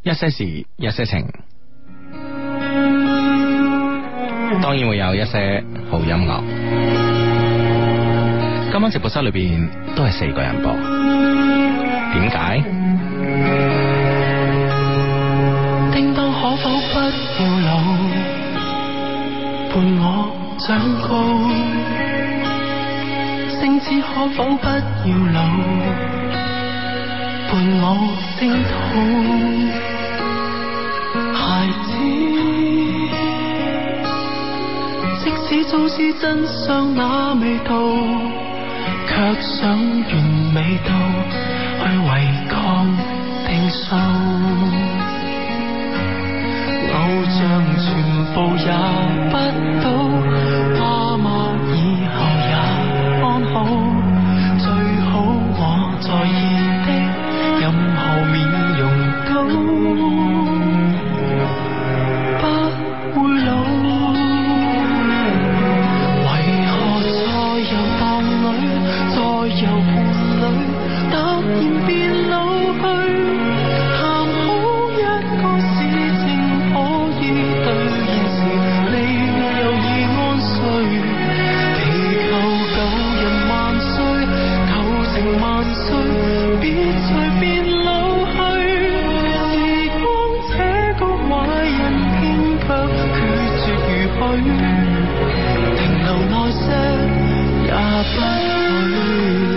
一些事一些情，當然會有一些好音樂。今晚直播室裏邊都係4個人播，點解？ 叮當可否不要老，伴我長高？星子可否不要老，伴我聲討？孩子，即使早知真相那味道，卻想完美到去違抗定數。偶像全部也不到，爸媽以後也安好，最好我在意的任何面容都不會老。為何再遊蕩裏，再遊伴侶，突然變老去？談好一個事情可以兌現時，你又已安睡。祈求舊人萬歲，舊情萬歲，別隨便老去。時光這個壞人，偏卻決絕如許，停留耐些也不許。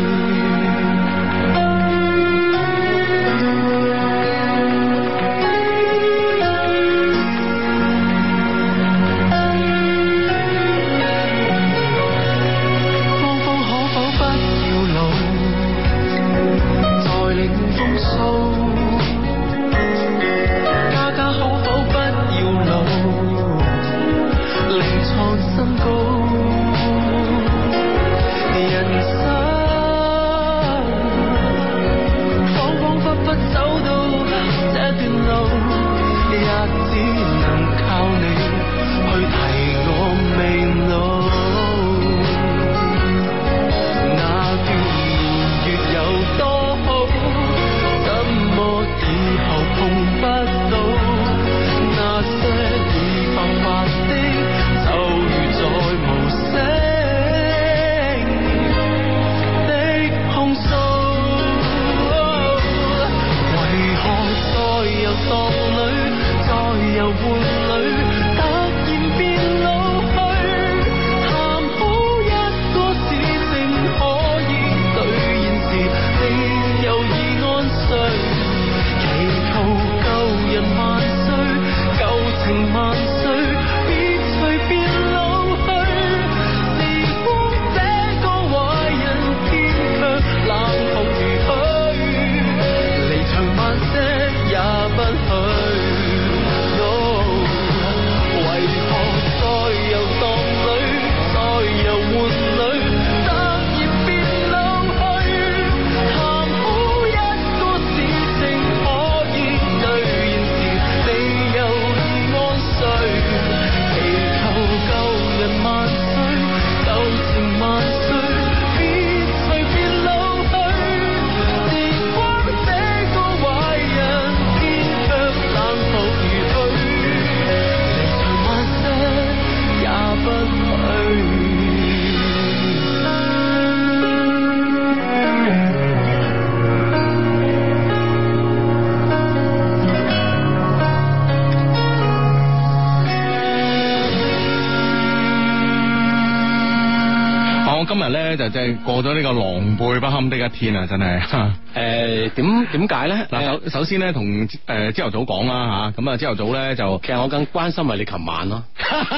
今日咧就真係過咗呢個狼狽不堪的一天啊！真係點解咧？ 嗱，首先咧同朝頭早講啦吓，咁啊朝頭早咧就其實我更關心係你琴晚咯。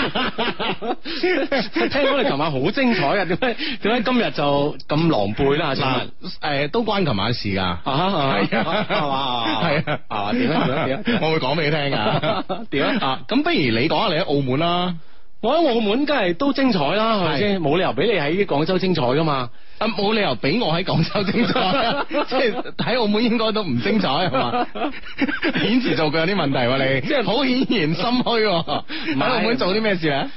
聽講你琴晚好精彩啊！點解今日就咁狼狽啦？ 嗱，都關琴晚事噶，係啊，係嘛，係啊，點啊？我會講俾你聽噶，點啊？咁不如你講下你喺澳門啦。 我喺澳門梗係都精彩啦，係咪先？冇理由俾你喺廣州精彩噶嘛？ 冇理由俾我喺廣州精彩，即係喺澳門應該都唔精彩係嘛？顯示做佢有啲問題喎，你即係好顯然心虛。喺澳門做啲咩事咧？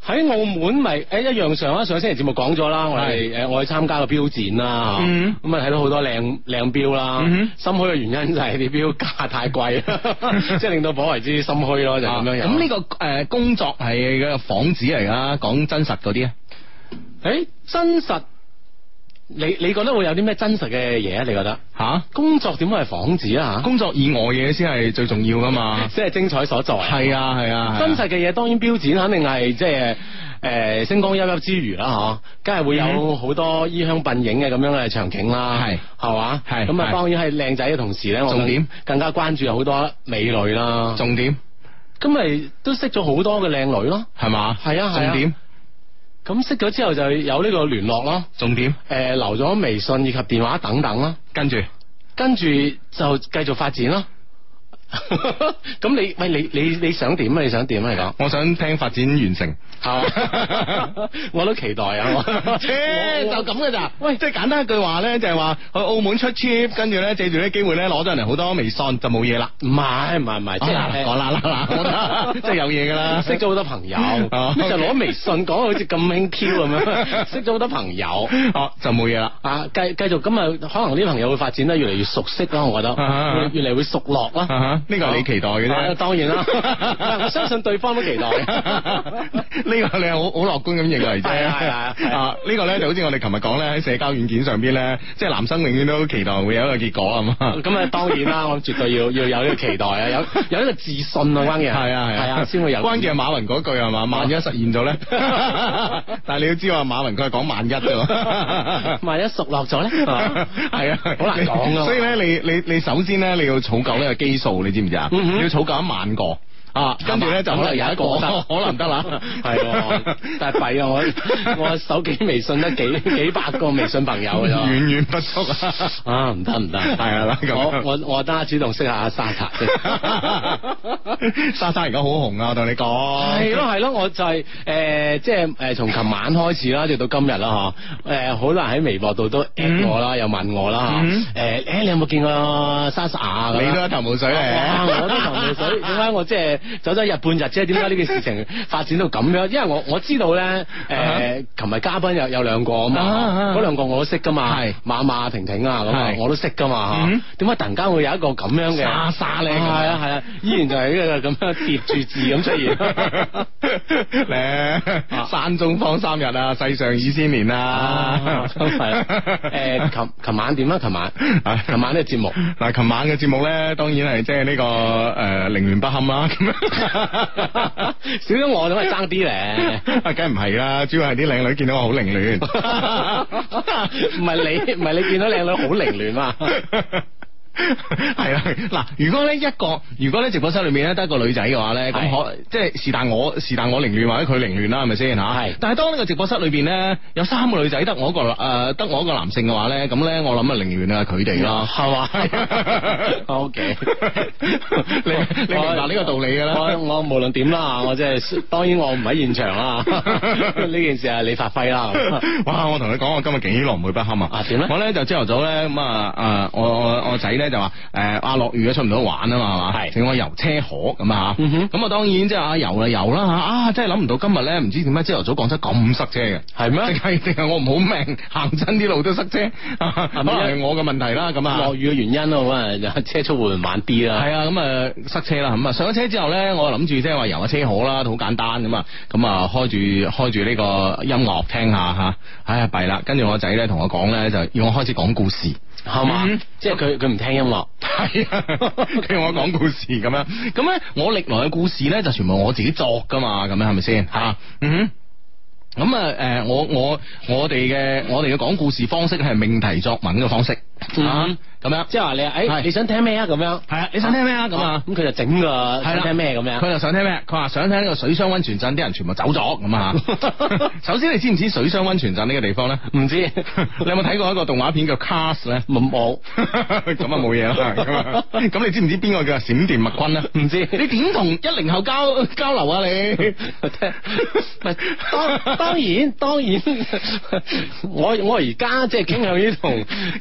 喺澳門咪一樣上星期節目講咗啦，我哋我去參加個標展啦，咁啊睇到好多靚標啦，心虛嘅原因就係啲標價太貴，即係令到頗為之心虛咯，就咁樣樣。 咁呢個工作係個幌子嚟噶，講真實嗰啲啊？ 真實。你覺得會有啲咩真實嘅嘢啊？你覺得工作點會係幌子啊？ 工作以外嘢先係最重要噶嘛， 即係精彩所在。 係啊， 真實嘅嘢當然標展肯定係即係星光熠熠之餘啦，梗係會有好多衣香鬢影嘅咁樣嘅場景啦，係嘛？係咁啊，當然係靚仔嘅同時咧， 重點更加關注有好多美女啦。 重點咁咪都識咗好多嘅靚女咯， 係嘛？ 係啊， 重點。 咁識咗之後就有呢個聯絡咯， 重點留咗微信以及電話等等啦，跟住就繼續發展咯。咁你想點啊？你想點啊？你講， 我想聽發展完成， 我都期待啊！ 就咁嘅咋？喂，即係簡單一句話咧，就係話去澳門出 trip，跟住咧借住啲機會咧攞咗人哋好多微信就冇嘢啦。唔係，即係講啦，即係有嘢噶啦， 識咗好多朋友，就攞微信講到好似咁輕佻咁樣，識咗好多朋友， 就冇嘢啦。 繼續咁啊，可能啲朋友會發展得越嚟越熟悉啦，我覺得越嚟會熟絡啦。 呢個係你期待嘅啫， 當然啦，我相信對方都期待。 呢個你係好樂觀咁認為啫。呢個咧就好似我哋琴日講咧，喺社交軟件上邊咧，即係男生永遠都期待會有一個結果啊嘛。咁啊，當然啦，我絕對要有呢個期待啊，有呢個自信啊，關鍵係啊，先會有。關鍵係馬雲嗰句係嘛，萬一實現咗咧，但係你要知話馬雲佢係講萬一啫，萬一熟落咗咧，係啊，好難講啊。所以咧，你首先咧你要儲夠呢個基數。你知唔知啊？你要儲夠1萬個跟住咧就可能有一個可能得啦。係，但係弊啊！我手機微信得幾百個微信朋友嘅啫，遠遠不足啊！唔得，係啦咁。我得主動識下莎莎先。 莎莎而家好紅啊！我同你講。 係咯，我就係即係從琴晚開始啦，直到今日啦好多人喺微博度都 at 我啦，又問我啦你有冇見過莎莎啊？ 你都一頭霧水嚟， 我都一頭霧水。點解我即係走咗日半日啫？點解呢件事情發展到咁樣？因為我知道咧，琴日嘉賓有兩個啊嘛，嗰兩個我都識噶嘛，係馬馬婷婷啊咁我都識噶嘛。點解突然間會有一個咁樣嘅莎莎咧？ 係啊，依然就係呢個咁樣疊住字咁出現咧。山中方3日啊，世上2000年啊， 係琴晚點啊？琴晚呢個節目嗱，琴晚嘅節目咧，當然係即係呢個凌亂不堪啦。 少咗我都係爭啲咧， 梗係唔係啦，主要係啲靚女見到我好凌亂， 唔係你見到靚女好凌亂嘛？ 係啦，嗱，如果咧直播室裏面咧得一個女仔嘅話咧，咁即係是但我凌亂或者佢凌亂啦，係咪先吓？係。但係當呢個直播室裏邊咧有3個女仔，得我一個男性嘅話咧，咁咧我諗啊凌亂啊佢哋咯，係嘛？O K，你明白呢個道理㗎啦。 我無論點啦，我即係當然我唔喺現場啦，呢件事係你發揮啦。 哇！我同你講，我今日幾狼狽不堪啊！點咧？我咧就朝頭早咧咁我仔咧就話落雨出唔到玩啊嘛，係嘛，係，請我遊車河咁啊，咁啊當然即係遊啦，真係諗唔到今日咧唔知點解朝頭早廣州咁塞車嘅，係咩？定係我唔好命行親啲路都塞車，可能係我嘅問題啦，咁啊落雨嘅原因咯，咁啊車速會慢啲啦， 係啊，咁啊塞車啦，咁啊上咗車之後咧，我諗住即係話遊下車河啦，好簡單咁啊，開住呢個音樂聽下吓，哎呀弊啦，跟住我仔咧同我講咧就要我開始講故事。係嘛？即係佢唔聽音樂，係啊，佢我講故事咁樣，咁咧我歷來嘅故事咧就全部我自己作噶嘛，咁樣係咪先？吓，咁啊，我哋嘅講故事方式係命題作文嘅方式，咁樣，即係話你想聽咩啊？咁樣，係啊，你想聽咩啊？咁啊，咁佢就整個想聽咩咁樣，佢就想聽咩？佢話想聽呢個水上溫泉鎮，啲人全部走咗咁啊！首先你知唔知水上溫泉鎮呢個地方咧？唔知，你有冇睇過一個動畫片叫 Cars 咧？冇，咁啊冇嘢啦。咁你知唔知邊個叫閃電麥昆咧？唔知，你點同10後交流啊？你當然，我而家即係傾向於同90後。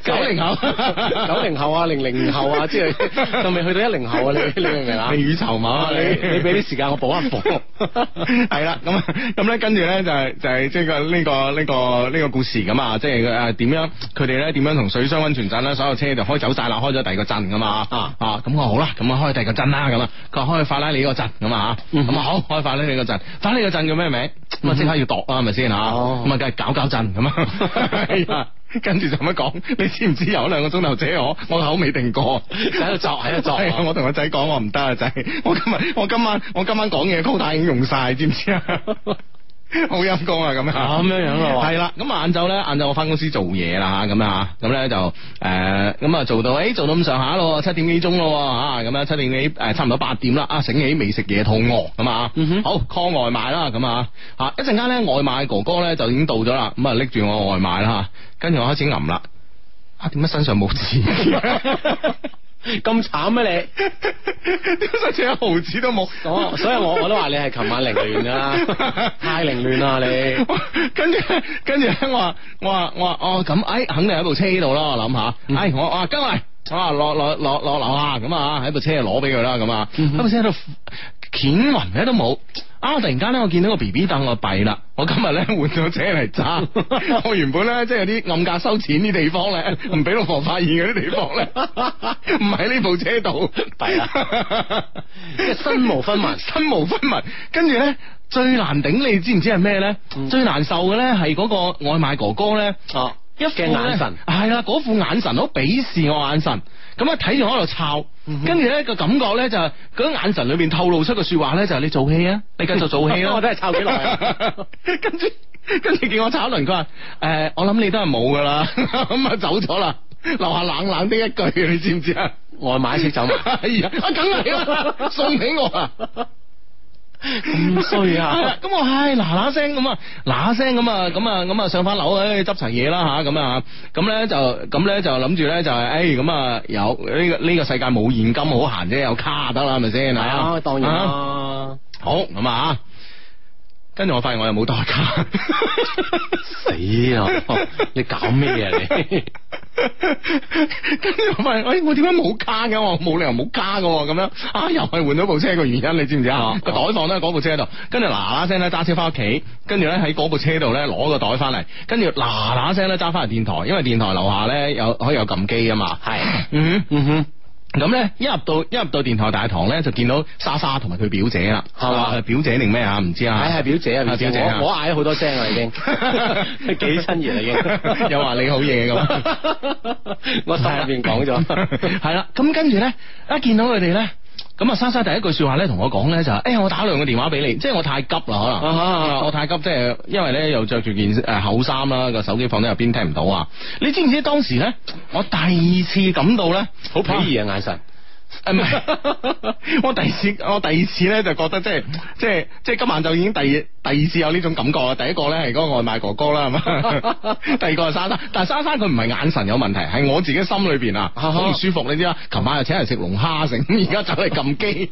90後啊00後啊，即係仲未去到10後啊，你明唔明啊？ 未雨綢繆啊， 你俾啲時間我補一補。 係啦，咁咧跟住咧就係即係呢個故事咁啊，即係點樣佢哋咧點樣同水鄉溫泉鎮咧所有車就開走晒啦，開咗第二個鎮噶嘛咁我好啦，咁啊開第二個鎮啦咁啊，佢話開法拉利個鎮咁啊，咁啊好開法拉利個鎮，法拉利個鎮叫咩名？咁啊即刻要度啊，係咪先吓？咁啊梗係搞鎮咁啊。跟住就咁樣講，你知唔知有2個鐘頭車我口未定過， 喺度作。 我同個仔講我唔得啊仔，我今晚講嘢quota已經用晒，知唔知啊？好陰功啊咁樣咯， 係啦，咁晏晝我翻公司做嘢啦咁啊，咁咧就咁啊做到咁上下咯，7點幾鐘咯咁樣7點幾差唔多8點啦，醒起未食嘢肚餓咁啊，好 call 外賣啦咁啊，一陣間咧外賣哥哥咧就已經到咗啦，咁啊拎住我外賣啦，跟住我開始揞啦，點解身上冇錢？ 咁慘咩你？ 點解一毫子都冇？ 所以我都話你係琴晚凌亂啦，太凌亂啦你。 跟住我話咁，肯定喺部車度啦，我諗下，我話跟嚟，落樓下咁啊，喺部車度攞俾佢啦，咁啊，喺部車度鉗暈咧都冇。突然間咧，我見到個 BB 凳，我弊啦！我今日咧換咗車嚟揸，我原本咧即係有啲暗格收錢啲地方咧，唔俾老婆發現嗰啲地方咧，唔喺呢部車度， 弊啦！即係身無分文， 跟住咧最難頂，你知唔知係咩咧？最難受嘅咧係嗰個外賣哥哥咧，一副眼神係啦，嗰副眼神好鄙視我眼神，咁啊睇住我喺度抄，跟住咧個感覺咧就係嗰眼神裏邊透露出個說話咧就係你做戲啊，你繼續做戲咯， 我睇係抄幾耐啊， 跟住叫我炒輪，佢話我諗你都係冇噶啦，咁啊走咗啦，留下冷冷的一句，你知唔知啊？ 外賣識走埋， 係啊，梗係啦，送俾我啊！ 咁衰啊！ 咁我嗱聲咁啊上翻樓執齊嘢啦吓，咁咧就諗住咧就係咁啊有呢個世界冇現金好閒啫，有卡得啦，係咪先？係啊，當然啦。 好咁啊，跟住我發現我又冇代卡， 死啊！你搞咩啊你？ 跟住我發現，我點解冇卡嘅？我冇理由冇卡嘅，咁樣又係換咗部車嘅原因，你知唔知啊？個袋放喺嗰部車度，跟住嗱聲咧揸車翻屋企，跟住咧喺嗰部車度咧攞個袋翻嚟，跟住嗱聲咧揸翻嚟電台，因為電台樓下咧可以有撳機啊嘛。係，咁咧一入到電台大堂咧，就見到莎莎同埋佢表姐啦，係嘛？表姐定咩啊？唔知啊。係表姐啊，表姐。 我嗌咗好多聲啦，已經幾親熱啦，已經。 又話你好嘢咁， 我心入邊講咗。 係啦，咁跟住咧，一見到佢哋咧。咁啊，莎莎第一句說話咧，同我講咧就係，我打2個電話俾你，即係我太急啦，可能我太急，即係因為咧又着住件厚衫啦，個手機放喺入邊聽唔到啊！你知唔知當時咧，我第二次感到咧好鄙夷嘅眼神。 唔係，我第二次咧就覺得即係今晚就已經第二次有呢種感覺啦。第一個咧係嗰個外賣哥哥啦，係嘛？第二個係莎莎，但係莎莎佢唔係眼神有問題，係我自己心裏邊啊好唔舒服，你知啦。琴晚又請人食龍蝦成，而家走嚟撳機。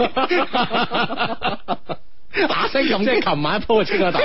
打聲咁，即係琴晚一鋪就清咗袋，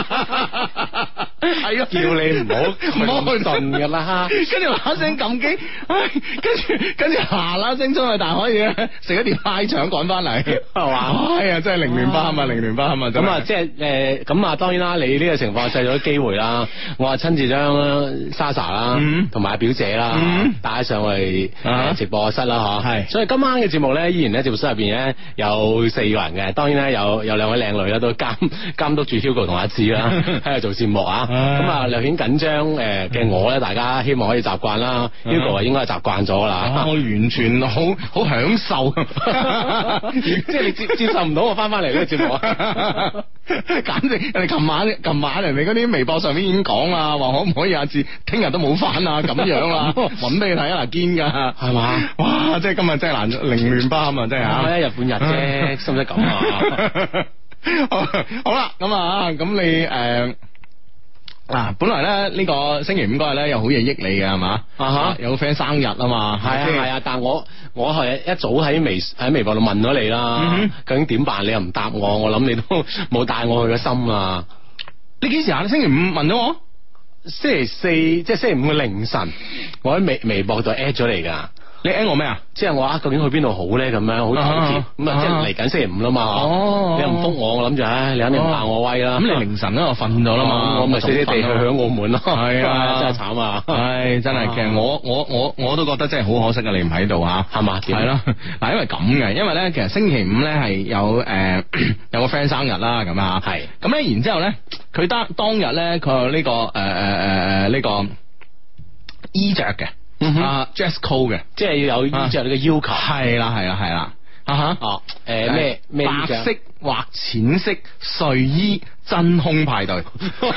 係啊，叫你唔好去順噶啦，跟住嗱聲撳機，跟住嗱聲出去大海嘢，食一碟拉腸趕翻嚟，係嘛？哎呀，真係凌亂不堪啊，凌亂不堪啊！ 咁啊，即係咁啊，當然啦，你呢個情況製咗機會啦，我啊親自將莎莎啦，同埋表姐啦帶上去直播室啦，吓，係，所以今晚嘅節目咧，依然咧節目室入邊咧有4個人嘅，當然咧有2位靚女啦，都監督住 Hugo 同阿志啦，喺度做節目啊。咁啊，略顯緊張嘅我咧，大家希望可以習慣啦。Hugo 應該係習慣咗啦。 我完全好享受， 即係你接受唔到我翻嚟呢個節目啊！ 簡直人哋琴晚人哋嗰啲微博上面已經講啦，話可唔可以阿志聽日都冇翻啊？咁樣啦，搵俾你睇啊，堅噶係嘛？哇！即係今日真係難凌亂不堪啊！真係啊！ 一日半日啫，使唔使咁啊？ 好啦，咁你本來咧呢個星期5嗰日咧有好嘢益你嘅係嘛？有個 friend 生日啊嘛，係啊，但我係一早喺微博度問咗你啦，究竟點辦？你又唔答我諗你都冇帶我去個心啊！你幾時啊？你星期5問咗我？ 星期四即係星期五嘅凌晨，我喺微博度 at 咗你噶。 你 at 我咩啊？ 即係我究竟去邊度好咧？咁樣好糾結。咁啊，即係嚟緊星期五啦嘛。 哦， 你又唔覆我諗住，你肯定唔怕我威啦。 咁你凌晨嗰度瞓咗啦嘛， 我咪死死地去澳門咯。 係啊， 真係慘啊！ 係真係，其實我都覺得真係好可惜啊！你唔喺度吓， 係嘛？ 係咯，嗱，因為咁嘅，因為咧，其實星期五咧係有有個 friend 生日啦，咁啊， 係咁咧，然之後咧，佢當日咧，佢有呢個呢個衣着嘅。dress code 嘅， 即係要有衣着你嘅要求。 係啦， 哦，咩白色或淺色睡衣真空派對，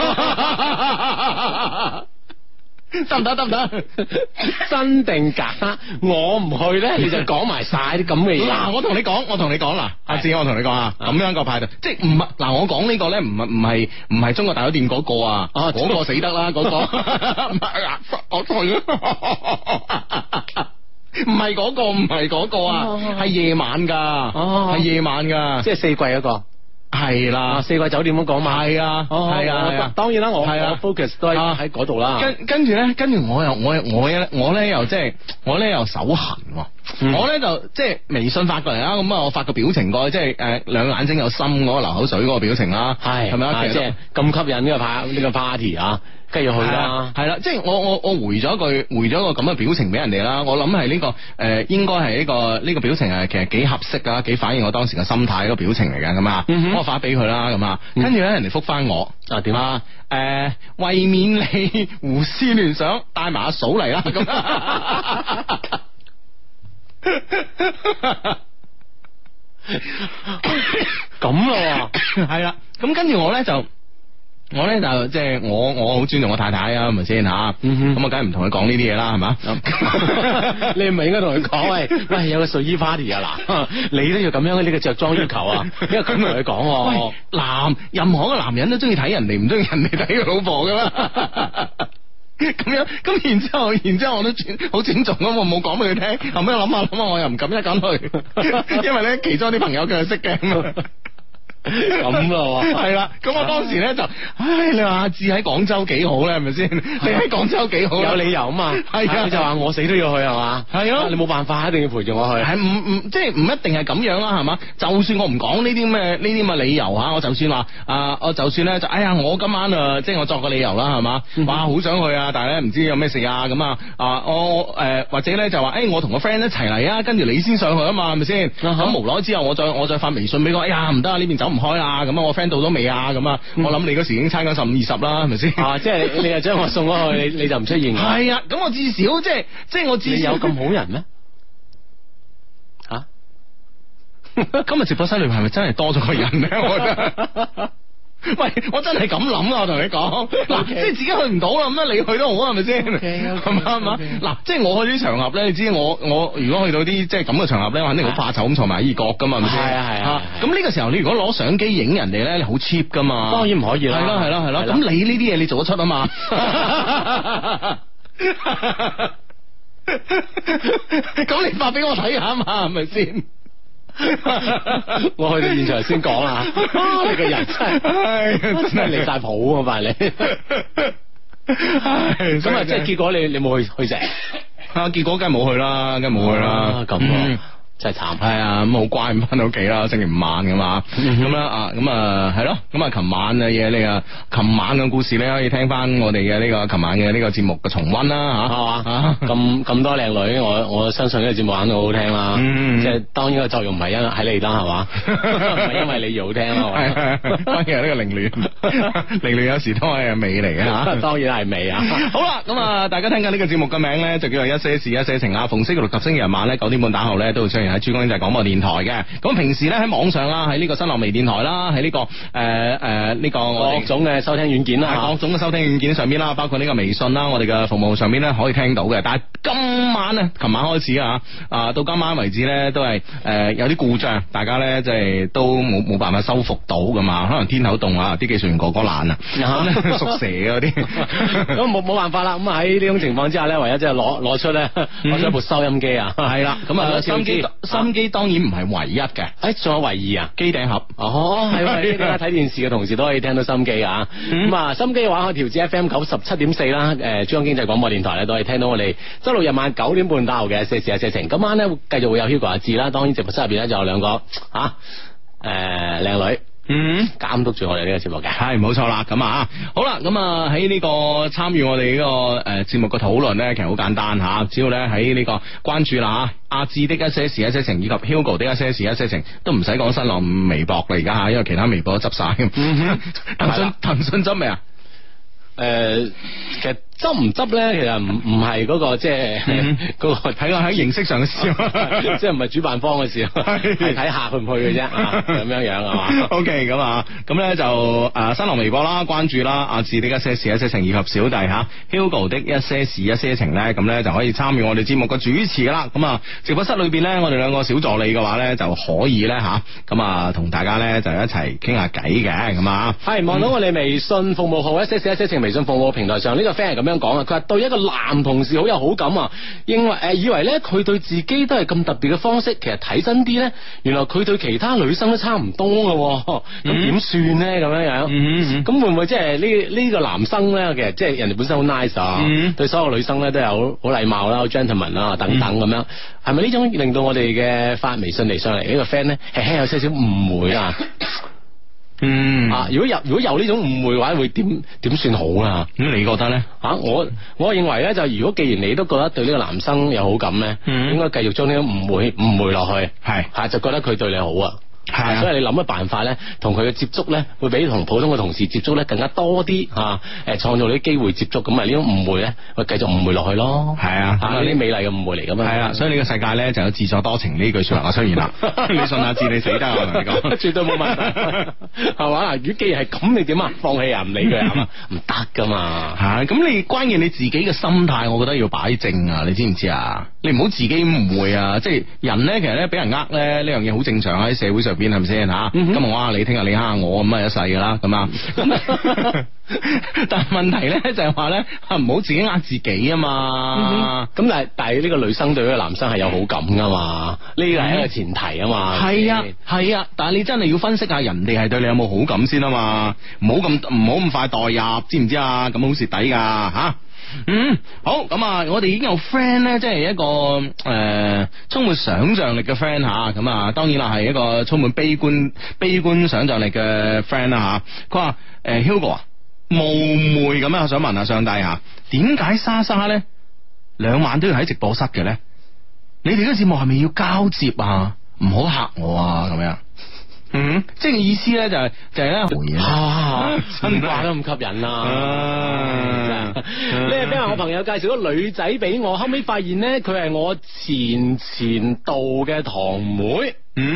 得唔得？ 真定假？我唔去咧，你就講埋晒啲咁嘅嘢。 嗱，我同你講啦，阿志，我同你講啊，咁樣個派對，即係唔係嗱，我講呢個咧，唔係中國大酒店嗰個啊，嗰個死得啦，嗰個唔係啊，我退啊。唔係嗰個啊，係夜晚噶，係夜晚噶， 即係四季嗰個。 係啦， 四季酒店咁講嘛。係啊，當然啦，我 focus 都喺嗰度啦。 跟住我咧又即係我咧又手痕，我咧就即係微信發過嚟啦，咁啊我發個表情過去，即係兩眼睛有心嗰個流口水嗰個表情啦，係咪啊？ 即係咁吸引呢個 party 啊！跟住去啦， 係啦，即係我回咗個咁嘅表情俾人哋啦。我諗係呢個應該係呢個表情係其實幾合適噶，幾反映我當時嘅心態嗰個表情嚟嘅咁啊。我發俾佢啦，咁啊，跟住咧人哋覆翻我啊點啊？為免你胡思亂想，帶埋阿嫂嚟啦咁。咁咯，係啦。咁跟住我咧就即係我好尊重我太太啊，係咪先吓？咁我梗係唔同佢講呢啲嘢啦，係嘛？ 你唔係應該同佢講喂，有個睡衣 party 啊，嗱，你都要咁樣呢個着裝要求啊，因為咁同佢講。 喂，任何一個男人都中意睇人哋，唔中意人哋睇佢老婆噶嘛？咁樣，咁然之後我都好尊重咁，我冇講俾佢聽。後尾諗下，我又唔敢一敢去，因為咧其中啲朋友佢係識嘅。 咁咯， 係啦，咁我當時咧就，你話阿志喺廣州幾好咧，係咪先？你喺廣州幾好？有理由啊嘛，係啊，你就話我死都要去係嘛？係咯，你冇辦法，一定要陪住我去。係唔即係唔一定係咁樣啦，係嘛？就算我唔講呢啲咁嘅理由吓，我就算話我就算咧就，我今晚即係我作個理由啦，係嘛？哇，好想去啊，但係咧唔知有咩事啊，咁我或者咧就話，我同個 friend 一齊嚟啊，跟住你先上去啊嘛，係咪先？咁無奈之後，我再發微信俾佢，唔得啊，呢邊走唔開啊，咁我 friend 到咗未啊？咁我諗你嗰時已經差緊15-20啦，係咪先？即係你又將我送咗去，你就唔出現。 係啊，咁我至少即係我至少有咁好人咩？吓， 今日直播室裏邊係咪真係多咗個人咧？我覺得。喂，我真係咁諗啊！我同你講，嗱，即係自己去唔到啦，咁你去都好，係咪先？係嘛？嗱，即係我去啲場合咧，你知我如果去到啲即係咁嘅場合咧，我肯定好怕醜咁坐埋二角噶嘛，係咪先？係啊。咁呢個時候你如果攞相機影人哋咧，你好 cheap 噶嘛？當然唔可以啦。係咯。咁你呢啲嘢你做得出啊嘛？咁你發俾我睇下嘛，係咪先？ 我去到現場先講啊！你個人真係離晒譜啊！快你咁啊！即係結果你冇去成結果梗係冇去啦，咁真係慘。 係啊，咁好乖咁翻到屋企啦，星期5晚噶嘛，咁啦咁係咯，咁啊琴晚嘅嘢你琴晚嘅故事咧可以聽翻我哋嘅呢個琴晚嘅呢個節目嘅重溫啦吓，係嘛？ 咁多靚女，我相信呢個節目肯定好好聽啦。即係當然個作用唔係因喺你啦，係嘛？唔係因為你而好聽咯。 當然係呢個凌亂有時都係美嚟嘅吓， 當然係美啊。 好啦，咁大家聽緊呢個節目嘅名咧就叫做一些事一些情啊，逢星期六及星期日晚咧9點半打後咧都會出現喺珠江經濟廣播電台嘅。咁平時咧喺網上啦，喺呢個新浪微電台啦，喺呢個呢個各種嘅收聽軟件啦， 各種嘅收聽軟件上邊啦，包括呢個微信啦，我哋嘅服務上邊咧可以聽到嘅。但係今晚咧，琴晚開始到今晚為止咧，都係有啲故障，大家咧即係都冇辦法修復到噶嘛。可能天口凍啊，啲技術員哥哥懶啊，屬蛇嗰啲， 咁冇辦法啦。咁喺呢種情況之下咧，唯一即係攞出一部收音機啊， 係啦，咁啊收音機當然唔係唯一嘅， 仲有唯二啊， 機頂盒， 係睇電視嘅同時都可以聽到收音機啊。咁啊，收音機嘅話可以調至 FM 97.4啦，珠江經濟廣播電台咧都可以聽到我哋周六日晚9點半打後嘅一些事一些情。今晚咧繼續會有 Hugo 阿志啦，當然直播室入邊咧就有兩個靚女。監督住我哋呢個節目嘅， 係冇錯啦。咁啊，好啦，咁啊喺呢個參與我哋呢個節目嘅討論咧，其實好簡單吓，只要咧喺呢個關注啦阿志的一些事一些情以及 Hugo 的一些事一些情，都唔使講新浪微博啦而家吓，因為其他微博都執晒。騰訊執未啊？ 其實執唔執咧，其實唔係嗰個即係嗰個睇下喺形式上嘅事， 即係唔係主辦方嘅事，係睇下去唔去嘅啫，咁樣係嘛 ？OK， 咁啊，咁咧就新浪微博啦，關注啦，阿志的一些事一些情以及小弟Hugo 的一些事一些情咧，咁咧就可以參與我哋節目嘅主持啦。咁啊，直播室裏邊咧，我哋兩個小助理嘅話咧，就可以咧咁啊，同大家咧就一齊傾下偈嘅，咁啊， 係望到我哋微信服務號一些事一些情微信服務平台上呢個 friend 係咁樣講啊，佢話對一個男同事好有好感啊，以為咧佢對自己都係咁特別嘅方式，其實睇真啲咧，原來佢對其他女生都差唔多嘅，咁點算咧？咁樣樣，咁會唔會即係呢個男生咧？其實即係人哋本身好 nice 啊，對所有女生咧都有好禮貌啦，好 gentleman 啦，等等咁樣，係咪呢種令到我哋嘅發微信嚟上嚟呢個 friend 咧，輕輕有些少誤會啊？如果有呢種誤會嘅話，會點算好啊？ 咁你覺得咧？ 我認為咧，就如果既然你都覺得對呢個男生有好感咧，應該繼續將呢種誤會落去，係就覺得佢對你好啊。係，所以你諗嘅辦法咧，同佢嘅接觸咧，會比同普通嘅同事接觸咧更加多啲吓，創造啲機會接觸，咁啊呢種誤會咧，會繼續誤會落去咯。係啊，呢啲美麗嘅誤會嚟噶嘛。係啊， 所以呢個世界咧就有自作多情呢句說話出現啦。你信下字，你死得我同你講， 絕對冇問題，係嘛？如果既然係咁，你點啊？放棄啊？唔理佢係嘛？唔得噶嘛。 係，咁你關鍵你自己嘅心態，我覺得要擺正啊！你知唔知啊？你唔好自己誤會啊！即係人咧，其實咧俾人咧呢樣嘢好正常喺社會上邊係咪先吓？今日我蝦你，聽日你蝦我，咁啊一世噶啦，咁啊。但係問題咧就係話咧，唔好自己呃自己啊嘛。咁但係呢個女生對呢個男生係有好感噶嘛？呢個係一個前提啊嘛。 係啊，但係你真係要分析下人哋係對你有冇好感先啊嘛。唔好咁快代入，知唔知啊？咁好蝕底噶吓。好，咁啊，我哋已經有 friend 咧，即係一個充滿想象力嘅 friend 吓，咁啊，當然啦，係一個充滿悲觀想象力嘅 friend 啦吓。佢話Hugo 啊，冒昧咁樣，我想問下上帝吓，點解莎莎咧2晚都要喺直播室嘅咧？你哋嘅節目係咪要交接啊？唔好嚇我啊，咁樣。即係意思咧就係咧回嘢， 真話都咁吸引啦！呢個俾我朋友介紹個女仔俾我，後尾發現咧佢係我前度嘅堂妹。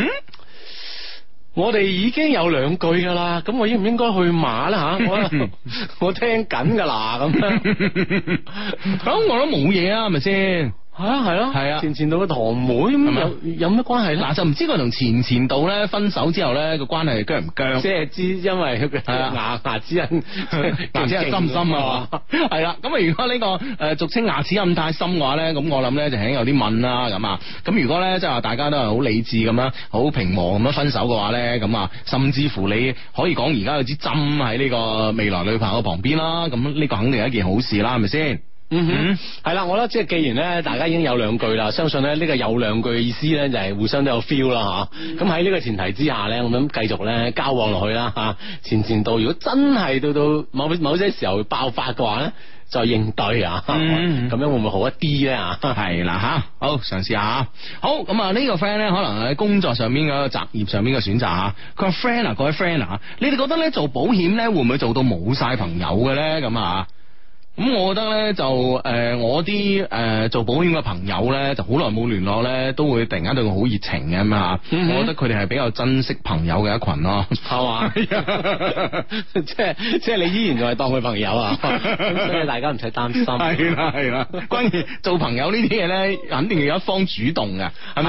我哋已經有2句噶啦，咁我應唔應該去馬啦吓？我聽緊噶啦，咁咁我都冇嘢啊，係咪先？ 係咯，係啊，前度嘅堂妹咁有咩關係咧？嗱， 就唔知佢同前度咧分手之後咧個關係僵唔僵？ 即係知因為牙齒印， 牙齒印深唔深啊？係啦，咁啊如果呢個俗稱牙齒印太深嘅話咧，咁我諗咧就係有啲問啦咁啊。咁如果咧即係話大家都係好理智咁樣，好平和咁樣分手嘅話咧，咁啊甚至乎你可以講而家有支針喺呢個未來女朋友旁邊啦，咁呢個肯定係一件好事啦，係咪先？ 係啦，我覺得即係既然咧，大家已經有2句啦，相信咧呢個有2句嘅意思咧就係互相都有 feel 啦吓。咁喺呢個前提之下咧，我諗繼續咧交往落去啦吓。前度如果真係到某些時候爆發嘅話咧，再應對啊。咁樣會唔會好一啲咧啊？ 係啦吓，好嘗試下。好，咁啊呢個 friend 咧可能喺工作上面嘅擇業上面嘅選擇吓。佢話 friend 啊，各位 friend 啊，你哋覺得咧做保險咧會唔會做到冇晒朋友嘅咧？咁啊？咁我覺得咧就我啲做保險嘅朋友咧就好耐冇聯絡咧，都會突然間對佢好熱情嘅咁啊！我覺得佢哋係比較珍惜朋友嘅一群咯， 係嘛？即係你依然仲係當佢朋友啊！咁所以大家唔使擔心。 係啦，關鍵做朋友呢啲嘢咧，肯定要有一方主動嘅，係咪先？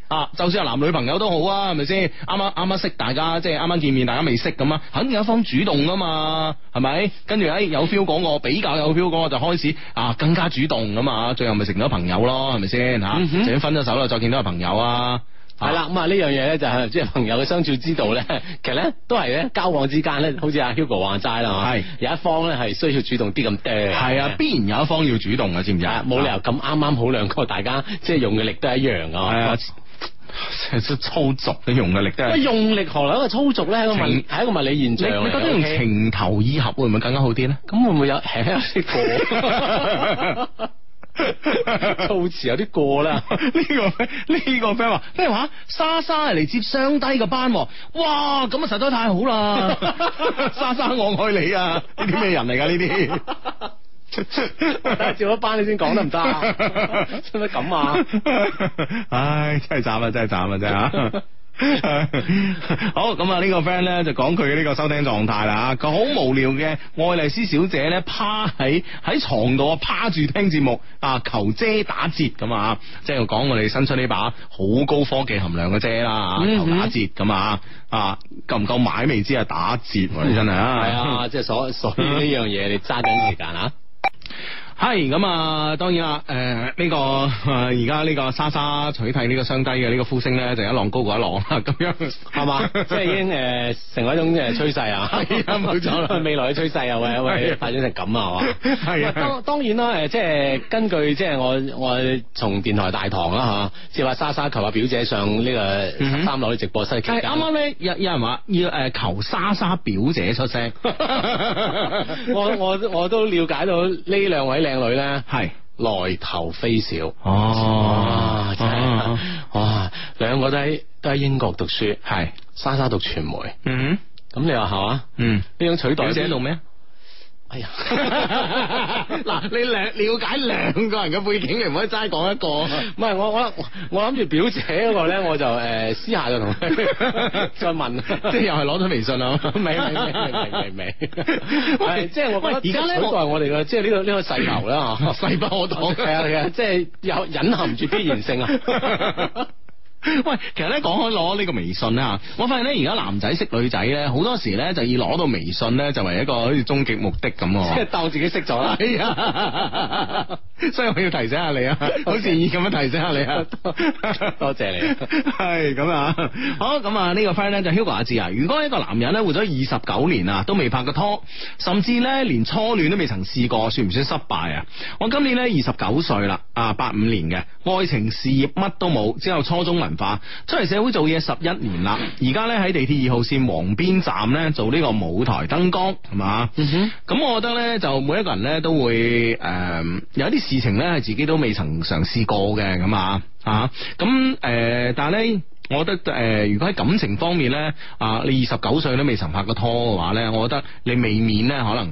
就算係男女朋友都好啊，係咪先？啱啱識大家，即係啱啱見面，大家未識咁啊，肯定有一方主動噶嘛，係咪？跟住有 feel 嗰個比較有 feel 嗰個就開始更加主動噶嘛，最後咪成咗朋友咯，係咪先吓？就算分咗手啦，再見到係朋友啊。 係啦，咁啊呢樣嘢咧就係即係朋友嘅相處之道咧，其實咧都係咧交往之間咧，好似阿 Hugo 話齋啦，係有一方咧係需要主動啲咁多，係啊， 必然有一方要主動嘅，知唔知啊？ 冇理由咁啱好兩個大家即係用嘅力都係一樣噶，係啊， 粗俗嘅用嘅力都係。 用力何來一個粗俗咧？係一個物理現象。 你覺得用情投意合會唔會更加好啲咧？ 咁會唔會有啲過？措辭有啲過啦。 呢個 friend 話咩話？莎莎嚟接雙低個班，哇！咁啊實在太好啦！莎莎我愛你啊！呢啲咩人嚟噶呢啲？ 接咗班你先講得唔得啊？使唔使咁啊？ 唉，真係慘啊！真係慘啊！真係啊！好咁啊！呢個 friend 咧就講佢嘅呢個收聽狀態啦。佢好無聊嘅愛麗絲小姐咧，趴喺床度趴住聽節目求遮打折咁啊！即係講我哋新出呢把好高科技含量嘅遮啦，求打折咁啊！夠唔夠買未知啊？打折你真係啊！ 係啊！即係所以呢樣嘢你揸緊時間啊！ 係咁啊，當然啦，呢個而家呢個莎莎取替呢個雙低嘅呢個呼聲咧，就一浪高過一浪啦，咁樣係嘛？即係已經成為一種趨勢啊！ 係啊，冇錯啦， 未來嘅趨勢啊，喂發展成咁啊，係嘛？ 係啊， 當然啦，即係根據即係我從電台大堂啦嚇，即係話莎莎求阿表姐上呢個13樓嘅直播室期間， 啱啱咧有人話要求莎莎表姐出聲， 我都了解到呢兩位靚女咧係來頭非小哦，真係哇，兩個都喺英國讀書，係莎莎讀傳媒，咁你話係嘛？呢種取代表姐讀咩？ 哎呀， 嗱，你了解兩個人嘅背景，你唔可以齋講一個。 唔係我諗住表姐嗰個咧，我就私下就同佢再問， 即係又係攞咗微信啊？ 未，即係我覺得而家咧，取代我哋嘅即係呢個勢頭啦， 勢不可擋。 係啊，即係有隱含住必然性啊。 喂，其實咧講開攞呢個微信咧，我發現咧而家男仔識女仔咧，好多時咧就以攞到微信咧就為一個好似終極目的咁， 即係當自己識咗啦。 係啊，所以我要提醒下你啊，好善意咁樣提醒下你啊， 多謝你。 係咁啊，好咁啊，呢個 friend 咧就 Hugo 阿志啊，如果一個男人咧活咗29年啊，都未拍過拖，甚至咧連初戀都未曾試過，算唔算失敗啊？我今年咧29歲啦，85年嘅，愛情事業乜都冇，只有初中文化，出嚟社會做嘢11年啦，而家咧喺地鐵2號線黃邊站咧做呢個舞台燈光，係嘛？咁我覺得咧就每一個人咧都會有啲事情咧係自己都未曾嘗試過嘅，咁咁但係咧我覺得如果喺感情方面咧你29歲都未曾拍過拖嘅話咧，我覺得你未免咧可能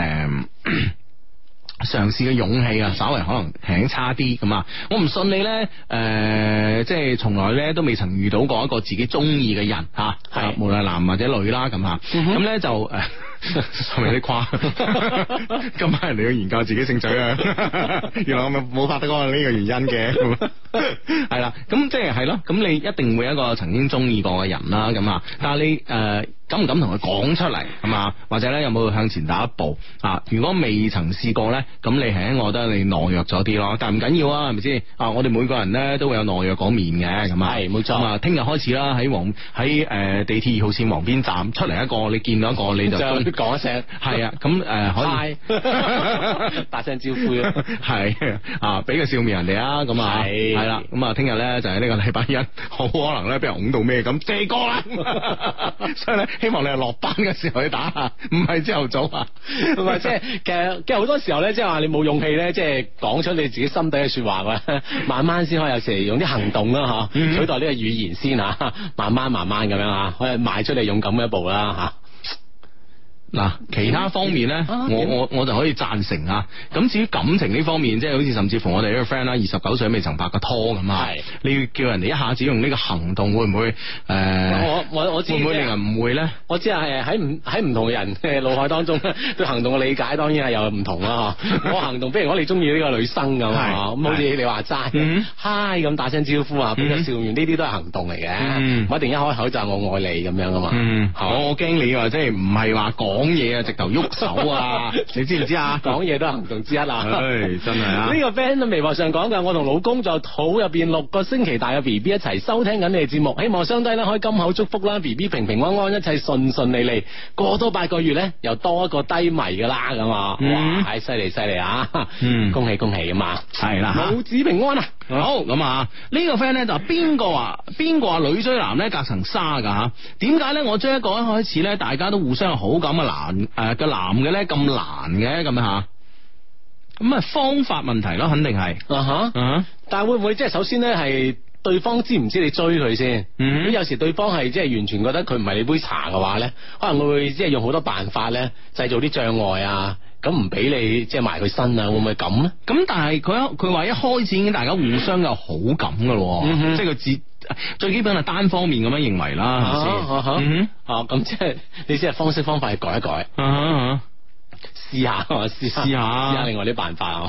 嘗試嘅勇氣啊，稍微可能輕差啲咁啊！我唔信你咧，即係從來咧都未曾遇到過一個自己中意嘅人吓，係無論男或者女啦咁吓，咁咧就係咪有啲誇？今晚人哋要研究自己性取啊，原來我咪冇拍得過呢個原因嘅，係啦，咁即係係咯，咁你一定會有一個曾經中意過嘅人啦，咁啊，但係你敢唔敢同佢講出嚟係嘛？或者咧有冇向前踏一步啊？如果未曾試過咧，咁你係我覺得你懦弱咗啲咯。但係唔緊要啊，係咪先？我哋每個人咧都會有懦弱嗰面嘅，咁啊係冇錯。咁啊，聽日開始啦，喺地鐵2號線黃邊站出嚟一個，你見到一個你就講一聲， 係啊，咁可以打聲招呼啊， 係俾個笑面人哋啊，咁啊係啦，咁啊聽日咧就係呢個禮拜一，好可能咧俾人拱到咩咁借歌啦，所以咧。希望你係落班嘅時候去打下，唔係朝頭早啊。唔係即係其實好多時候咧，即係話你冇勇氣咧，即係講出你自己心底嘅說話嘅，慢慢先可以有時用啲行動啦，吓取代呢個語言先吓，慢慢咁樣吓，可以邁出你勇敢嘅一步啦吓。嗱，其他方面咧，我就可以贊成啊。咁至於感情呢方面，即係好似甚至乎我哋呢個 friend 啦，29歲未曾拍過拖咁啊。你要叫人哋一下子用呢個行動，會唔會？我我知會唔會令人誤會咧？ 我知係喺唔同人嘅腦海當中對行動嘅理解當然係有唔同啦。我行動，譬如我哋中意呢個女生咁咁好似你話齋，嗨咁打聲招呼啊，俾個笑面，呢啲都係行動嚟嘅，唔一定一開口就係我愛你咁樣噶嘛。 我驚你話即係唔係話講嘢啊，直頭喐手啊，你知唔知啊？ 講嘢都係行動之一啊！ 真係啊！ 呢個 friend 喺微博上講噶，我同老公在肚入邊6個星期大嘅 B B 一齊收聽緊你哋節目，希望雙低咧可以金口祝福啦 ，B B 平平安安，一切順順利利，過多8個月咧又多一個低迷噶啦咁啊！哇，犀利啊！恭喜咁嘛， 係啦， 母子平安啊！ 好咁啊！呢個 friend 咧就邊個話女追男咧隔層紗噶吓？點解咧我追一個一開始咧大家都互相有好感嘅男嘅咧咁難嘅咁吓？咁啊方法問題咯，肯定係但係會唔會即係首先咧係對方知唔知你追佢先？咁有時對方係即係完全覺得佢唔係你杯茶嘅話咧，可能會即係用好多辦法咧製造啲障礙啊，咁唔俾你即係埋佢身啊，會唔會咁咧？咁但係佢話一開始已經大家互相有好感噶咯，即係佢最基本係單方面咁樣認為啦，係咪先？ 咁即係你即係方式方法去改一改。試下另外啲辦法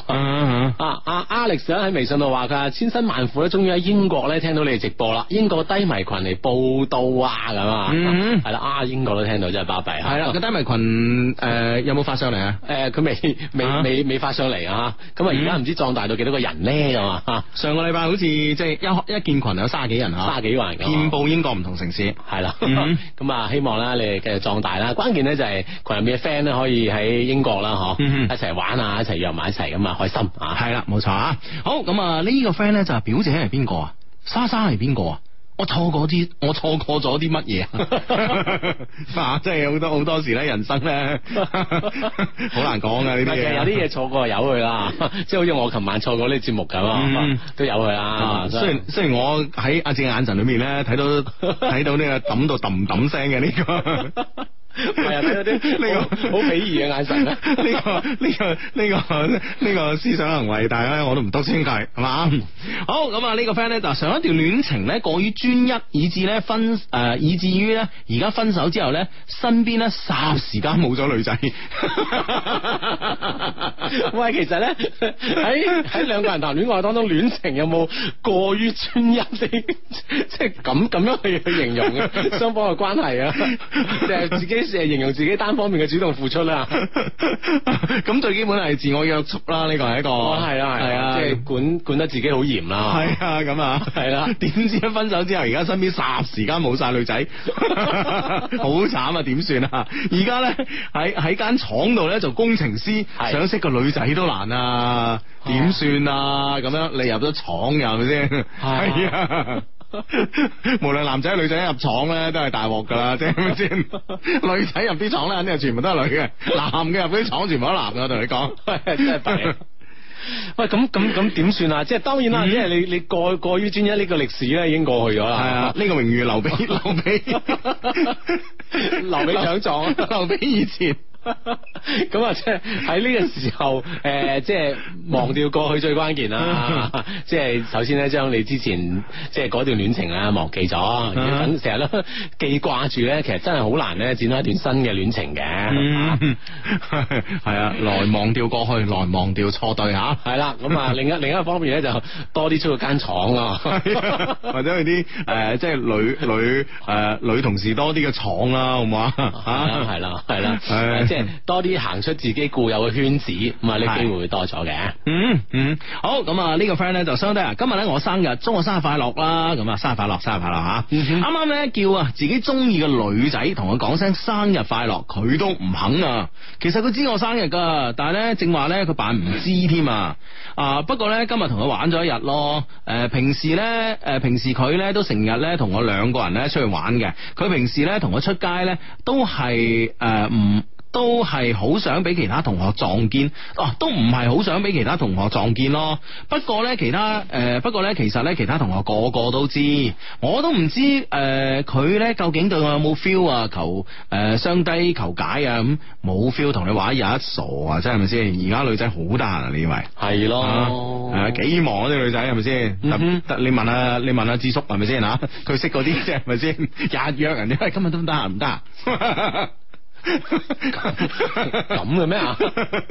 Alex 喺微信度話佢千辛萬苦咧，終於喺英國咧聽到你哋直播啦。英國低迷群嚟報道啊，咁啊，係啦，英國都聽到真係巴閉。係啦，個低迷群有冇發上嚟啊？佢未發上嚟啊。咁啊，而家唔知壯大到幾多個人咧咁啊？上個禮拜好似即係一建群有30幾人啊，30幾個人，遍佈英國唔同城市。係啦，咁啊，希望咧你哋繼續壯大啦。關鍵咧就係群入面嘅 friend 咧可以喺英國啦，一齊玩啊，一齊約埋一齊咁啊，開心啊！係啦，冇錯啊！好咁啊，呢個 friend 咧就係表姐係邊個啊？莎莎係邊個啊？我錯過咗啲乜嘢啊？即係好多時咧，人生咧好難講噶呢啲嘢。有啲嘢錯過就由佢啦，即係好似我琴晚錯過呢節目咁，都由佢啦。雖然我喺阿正眼神裏面咧睇到呢個抌到揼揼聲嘅呢個。係啊，睇到啲呢個好鄙夷嘅眼神咧，呢個思想行為，但係咧我都唔督穿佢，係嘛？好咁啊，呢個 friend 咧就上一段戀情咧過於專一，以至於咧而家分手之後咧，身邊咧霎時間冇咗女仔。喂，其實咧喺兩個人談戀愛當中，戀情有冇過於專一啲？即係咁樣去形容嘅雙方嘅關係啊？即係自己。即係形容自己單方面嘅主動付出啦，咁最基本係自我約束啦，呢個係一個係啊，即係管得自己好嚴啦，係啊，咁啊，係啦，點知一分手之後，而家身邊霎時間冇晒女仔，好慘啊，點算啊？而家咧喺間廠度咧做工程師，想識個女仔都難啊，點算啊？咁樣你入咗廠又係咪先？係啊。無論男仔女仔入廠咧都係大鑊噶啦，即係咪先？女仔入啲廠咧肯定係全部都係女嘅，男嘅入啲廠全部都男嘅，我同你講，真係弊。喂，咁點算啊？即係當然啦，即係你過於專一呢個歷史咧已經過去咗啦。係啊，呢個榮譽留俾獎狀，留俾以前。咁啊，即係喺呢個時候，即係忘掉過去最關鍵啦。即係首先咧，將你之前即係嗰段戀情啊忘記咗，等成日都記掛住咧，其實真係好難咧展開一段新嘅戀情嘅。係啊，來忘掉過去，來忘掉錯對吓。係啦，咁啊，另一方面咧就多啲出去間廠啊，或者去啲即係女同事多啲嘅廠啦，好唔好啊？係啦，即係多啲行出自己固有嘅圈子，咁啊呢機會會多咗嘅。好，咁啊呢個 friend 咧就相對啊，今日咧我生日，祝我生日快樂啦，咁啊生日快樂吓。啱啱咧叫啊自己中意嘅女仔同佢講聲生日快樂，佢都唔肯啊。其實佢知我生日噶，但係咧正話咧佢扮唔知添啊。不過咧今日同佢玩咗一日咯。平時佢咧都成日咧同我兩個人咧出去玩嘅。佢平時咧同我出街咧都係都係好想俾其他同學撞見，都唔係好想俾其他同學撞見咯。不過咧，其實咧，其他同學個個都知，我都唔知佢咧究竟對我有冇 feel 啊？求雙低求解啊！咁冇 feel 同你玩有一傻啊！真係咪先？而家女仔好得閒啊！你以為係咯？ 幾忙啊啲女仔係咪先？你問下智叔係咪先吓？佢識嗰啲啫係咪先？日約人哋，今日都唔得閒唔得？ 咁嘅咩啊？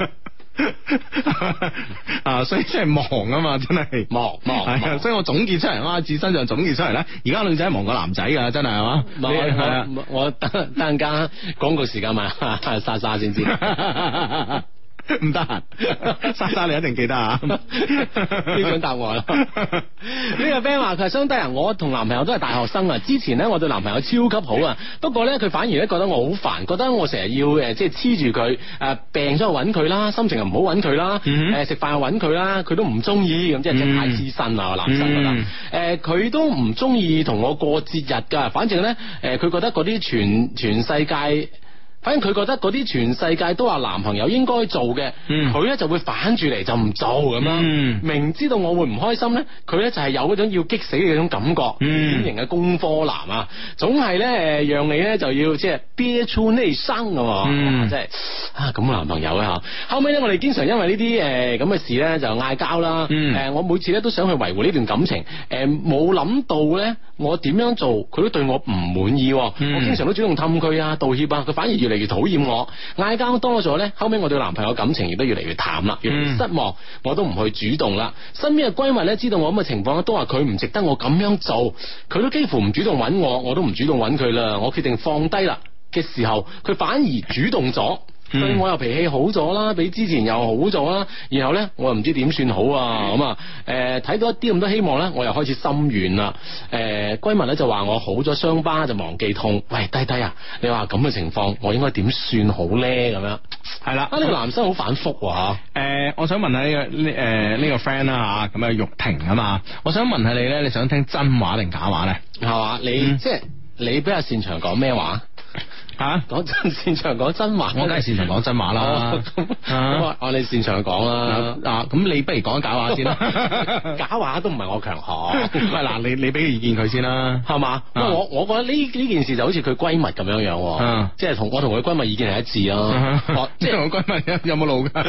所以真係忙啊嘛，真係忙，所以我總結出嚟，阿志身上總結出嚟咧，而家女仔忙過男仔噶，真係係嘛？ 我等陣間廣告時間問莎莎先知。 唔得閒，莎莎你一定記得啊！呢種答案啦。呢個 friend 話佢係相低人，我同男朋友都係大學生啊。之前咧我對男朋友超級好啊，不過咧佢反而咧覺得我好煩，覺得我成日要即係黐住佢，病咗又揾佢啦，心情又唔好揾佢啦，食飯又揾佢啦，佢都唔中意，咁即係太黐身啦，男生覺得。佢都唔中意同我過節日噶，反正咧佢覺得嗰啲全世界。反正佢覺得嗰啲全世界都話男朋友應該做嘅，佢咧就會反住嚟就唔做咁樣。明知道我會唔開心咧，佢咧就係有嗰種要激死嘅嗰種感覺。典型嘅工科男啊，總係咧讓你咧就要即係憋出內傷啊！即係咁嘅男朋友啊吓。後尾咧我哋經常因為呢啲咁嘅事咧就嗌交啦。我每次咧都想去維護呢段感情，冇諗到咧我點樣做佢都對我唔滿意。我經常都主動氹佢啊，道歉啊，佢反而越嚟越討厭我，嗌交多咗咧，後尾我對男朋友感情亦都越嚟越淡啦，越嚟越失望，我都唔去主動啦。身邊嘅閨蜜咧知道我咁嘅情況，都話佢唔值得我咁樣做，佢都幾乎唔主動揾我，我都唔主動揾佢啦。我決定放低啦嘅時候，佢反而主動咗。對我又脾氣好咗啦，比之前又好咗啦，然後咧我又唔知點算好啊，咁啊睇到一啲咁多希望咧，我又開始心軟啦。閨蜜咧就話我好咗傷疤就忘記痛，喂低低啊，你話咁嘅情況我應該點算好咧？咁樣係啦，呢個男生好反覆啊。 我想問下呢個 friend 啦吓，咁啊玉婷啊嘛，我想問下你咧，你想聽真話定假話咧？係嘛， 你即係你比較擅長講咩話？講真，擅長講真話， 我梗係擅長講真話啦。 我哋擅長講啦。 咁你不如講假話先啦。 假話都唔係我強項。 喂，嗱，你俾個意見佢先啦，係嘛？ 我覺得呢件事就好似佢閨蜜咁樣樣，即係我同佢閨蜜意見係一致咯。即係同佢閨蜜有冇路噶？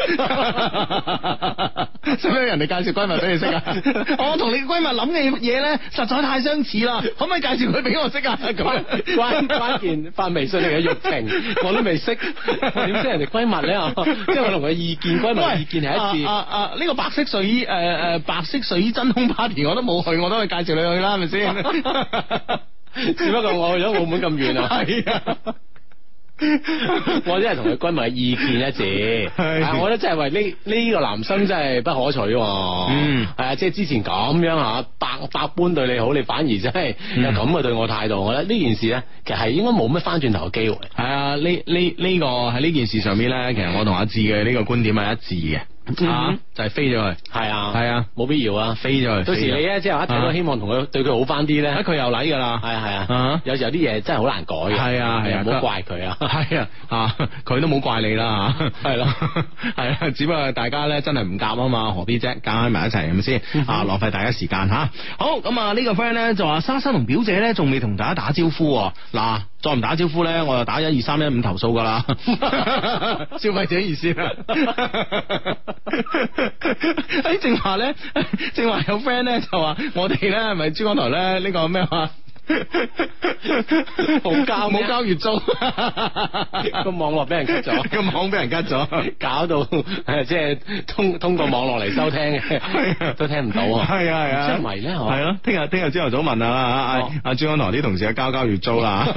使唔使人哋介紹閨蜜俾你識啊？我同你閨蜜諗嘅嘢咧，實在太相似啦，可唔可以介紹佢俾我識啊？關鍵發微信嚟嘅玉婷，我都未識，點識人哋閨蜜咧？即係我同佢意見，閨蜜意見係一致。 呢個白色睡衣白色睡衣真空 party 我都冇去，我都可以介紹你去啦，係咪先？ 只不過我去咗澳門咁遠啊。係啊。我真係同佢閨蜜意見一致，我覺得真係為呢個男生真係不可取。係啊，即係之前咁樣吓，百般對你好，你反而真係有咁嘅對我態度。我覺得呢件事咧，其實係應該冇乜翻轉頭嘅機會。 係啊，呢個喺呢件事上面咧，其實我同阿志嘅呢個觀點係一致嘅。就係飛咗佢，係啊，冇必要啊，飛咗佢。到時你咧即係一睇到希望同佢對佢好翻啲咧，佢又嚟噶啦，係啊，有時候啲嘢真係好難改嘅，係啊，唔好怪佢啊，係啊，佢都冇怪你啦，係咯，係啊，只不過大家咧真係唔夾啊嘛，何必啫，夾埋一齊係咪先？浪費大家時間吓。好，咁啊呢個 friend 咧就話莎莎同表姐咧仲未同大家打招呼，嗱，再唔打招呼咧，我就打12315投訴噶啦，消費者熱線啊。正話咧，正話有 friend 咧就話我哋咧係咪珠江台咧呢個咩話冇交月租，個網絡俾人 cut 咗，個網俾人 cut 咗，搞到即係通過網絡嚟收聽嘅，都聽唔到啊！係啊，即係唔係咧？係咯，聽日朝頭早問阿珠江台啲同事交月租啦。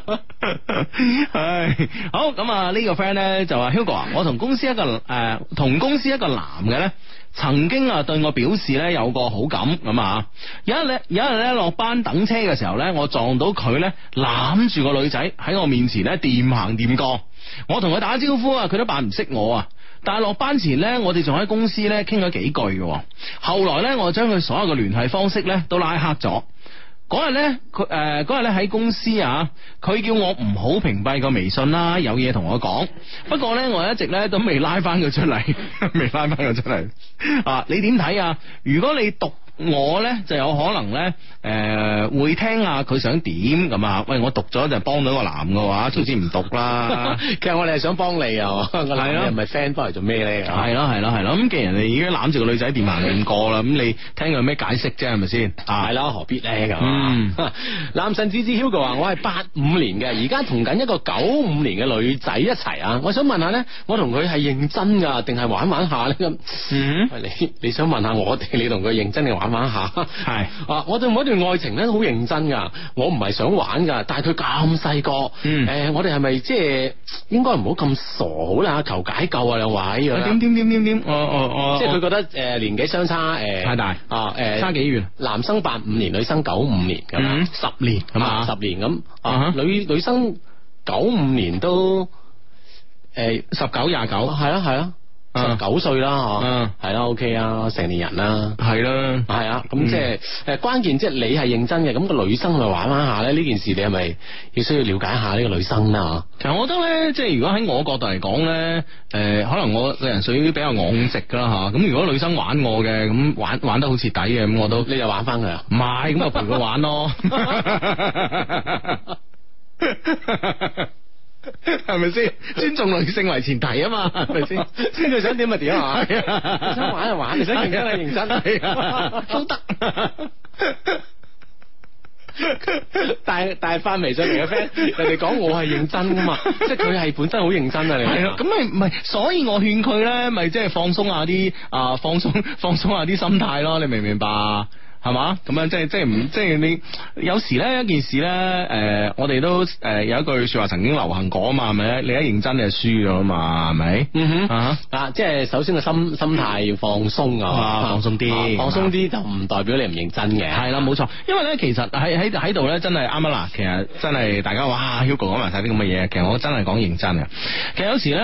唉，好咁啊！呢個 friend 咧就話 Hugo 啊，我同公司一個男嘅咧，曾經啊對我表示咧有個好感咁啊。有一日咧落班等車嘅時候咧，我撞到佢咧攬住個女仔喺我面前咧掂行掂過，我同佢打招呼啊，佢都扮唔識我啊。但係落班前咧，我哋仲喺公司咧傾咗幾句嘅。後來咧，我將佢所有嘅聯繫方式咧都拉黑咗。 嗰日咧，嗰日咧喺公司啊，佢叫我唔好屏蔽個微信啦，有嘢同我講。不過咧，我一直咧都未拉翻佢出嚟，未拉翻佢出嚟。啊，你點睇啊？如果你讀我咧，就有可能咧，會聽下佢想點咁啊？喂，我讀咗就幫到個男嘅話，早知唔讀啦。 其實我哋係想幫你啊，個男人唔係 friend 幫嚟做咩咧？ 係咯。咁既然人哋已經攬住個女仔掂行掂過啦，咁你聽佢有咩解釋啫？係咪先？ 係啦，何必咧咁？男神子子 Hugo 話：我係85年嘅，而家同緊一個95年嘅女仔一齊啊！我想問下咧，我同佢係認真噶，定係玩下咧咁？你想問下我哋，你同佢認真定玩下？係啊，我對每一段愛情咧都好認真噶，我唔係想玩噶，但係佢咁細個，我哋係咪即係應該唔好咁傻好啦？求解救啊，兩位！點？即係佢覺得年紀相差太大啊，差幾遠？ 男生85年，女生95年咁啊 ，10年咁啊 ，10年咁啊，女生95年都19、29，係啦。19歲啦，係啦 ，OK 啊，成年人啦， 係啦， 係啊，咁即係關鍵，即係你係認真嘅，咁個女生咪玩下咧？呢件事你係咪要需要了解下呢個女生啦？ 其實我覺得咧，即係如果喺我角度嚟講咧，可能我個人屬於比較昂直噶啦吓。咁如果女生玩我嘅，咁玩得好徹底嘅，咁我都你就玩翻佢啊？ 唔係，咁我陪佢玩咯。係咪先？尊重女性為前提啊嘛，係咪先？ 先佢想點咪點啊？你想玩就玩，你想認真就認真，都得。但係發微信嚟嘅 friend，人哋講我係認真噶嘛，即係佢係本身好認真啊！你係咯，咁咪唔係，所以我勸佢咧，咪即係放鬆下啲放鬆下啲心態咯，你明唔明白？係嘛？咁樣即係你有時咧一件事咧，我哋都有一句說話曾經流行過啊嘛，係咪？你一認真你就輸咗啊嘛，係咪？ 即係首先個心態要放鬆啊， 放鬆啲， 放鬆啲就唔代表你唔認真嘅。 係啦，冇錯。因為咧，其實喺度咧，真係啱啊嗱。其實真係大家哇 Hugo 講埋晒啲咁嘅嘢，其實我真係講認真嘅。其實有時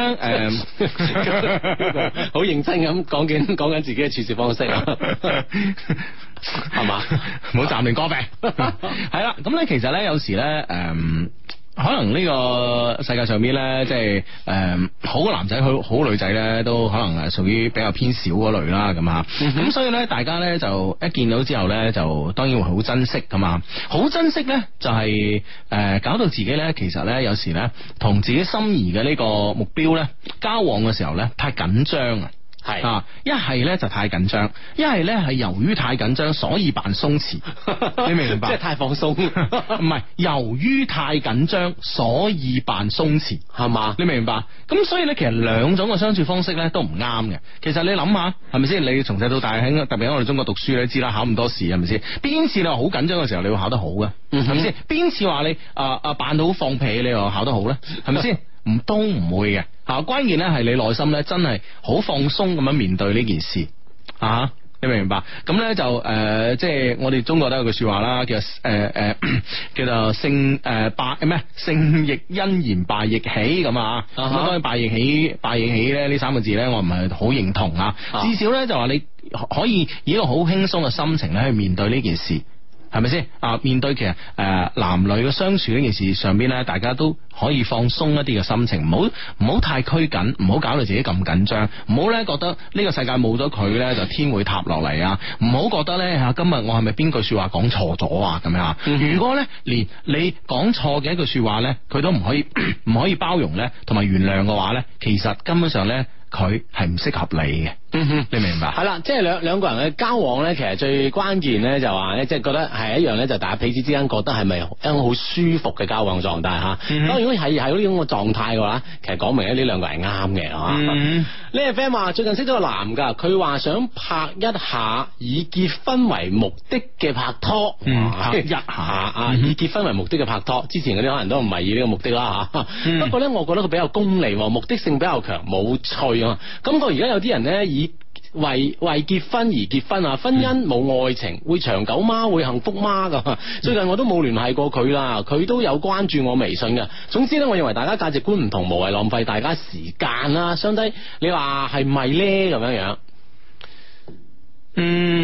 咧， 好認真咁講緊自己嘅處事方式啊。係嘛， 唔好暫停歌病。係啦，咁咧其實咧有時咧，可能呢個世界上邊咧，即係好嘅男仔，好女仔咧，都可能係屬於比較偏少嗰類啦，咁啊，咁所以咧，大家咧就一見到之後咧，就當然會好珍惜噶嘛，好珍惜咧就係搞到自己咧，其實咧有時咧同自己心儀嘅呢個目標咧交往嘅時候咧太緊張啊。係啊，一係咧就太緊張，一係咧係由於太緊張，所以扮鬆弛。你明唔明白？ 即係太放鬆， 唔係由於太緊張，所以扮鬆弛，係嘛？你明唔明白？咁所以咧，其實兩種嘅相處方式咧都唔啱嘅。其實你諗下，係咪先？你從細到大喺特別喺我哋中國讀書，你知啦，考咁多試係咪先？邊次你話好緊張嘅時候，你會考得好嘅？係咪先？邊次話你扮到好放屁，你話考得好咧？係咪先？都唔會嘅，關鍵咧係你內心咧真係好放鬆咁樣面對呢件事啊！你明唔明白？咁咧就即係我哋中國都有句說話啦，叫做勝亦欣然敗亦喜咁啊！咁當然敗亦喜咧呢3個字咧，我唔係好認同啊。至少咧就話你可以以一個好輕鬆嘅心情咧去面對呢件事。係咪先啊？面對其實男女嘅相處呢件事上邊咧，大家都可以放鬆一啲嘅心情，唔好太拘謹，唔好搞到自己咁緊張，唔好咧覺得呢個世界冇咗佢咧就天會塌落嚟啊！唔好覺得咧今日我係咪邊句說話講錯咗啊？咁樣，如果咧連你講錯嘅一句說話咧，佢都唔可以包容咧，同埋原諒嘅話咧，其實根本上咧佢係唔適合你嘅。你明唔明白？係啦， 即係兩個人嘅交往咧，其實最關鍵咧就話咧，即係覺得係一樣咧，就大家彼此之間覺得係咪一種好舒服嘅交往狀態吓？當然如果係呢種嘅狀態嘅話，其實講明咧呢兩個人係啱嘅，係嘛？呢個 friend 話最近識咗個男噶，佢話想拍一下以結婚為目的嘅拍拖，拍一下以結婚為目的嘅拍拖。之前嗰啲可能都唔係以呢個目的啦吓。不過咧，我覺得佢比較功利，目的性比較強，冇趣啊。感覺而家有啲人咧為結婚而結婚啊！婚姻冇愛情，會長久嗎？會幸福嗎？咁最近我都冇聯繫過佢啦，佢都有關注我微信嘅。總之咧，我認為大家價值觀唔同，無謂浪費大家時間啦。相低，你話係唔係咧？咁樣樣，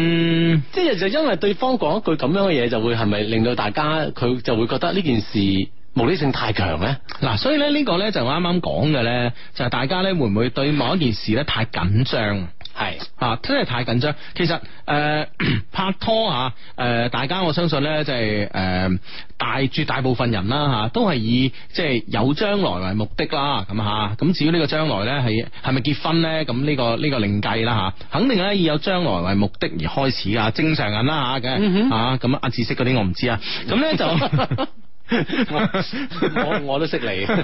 即係就因為對方講一句咁樣嘅嘢，就會係咪令到大家佢就會覺得呢件事目的性太強咧？ 嗱，所以咧呢個咧就我啱啱講嘅咧，就係大家咧會唔會對某一件事咧太緊張？係真係太緊張。其實拍拖大家我相信咧即係絕大部分人啦都係以即係有將來為目的啦，咁至於呢個將來咧係咪結婚咧？咁呢個另計啦肯定咧以有將來為目的而開始啊，正常人啦嘅咁阿知識嗰啲我唔知啊，咁咧就。 我都識你， 係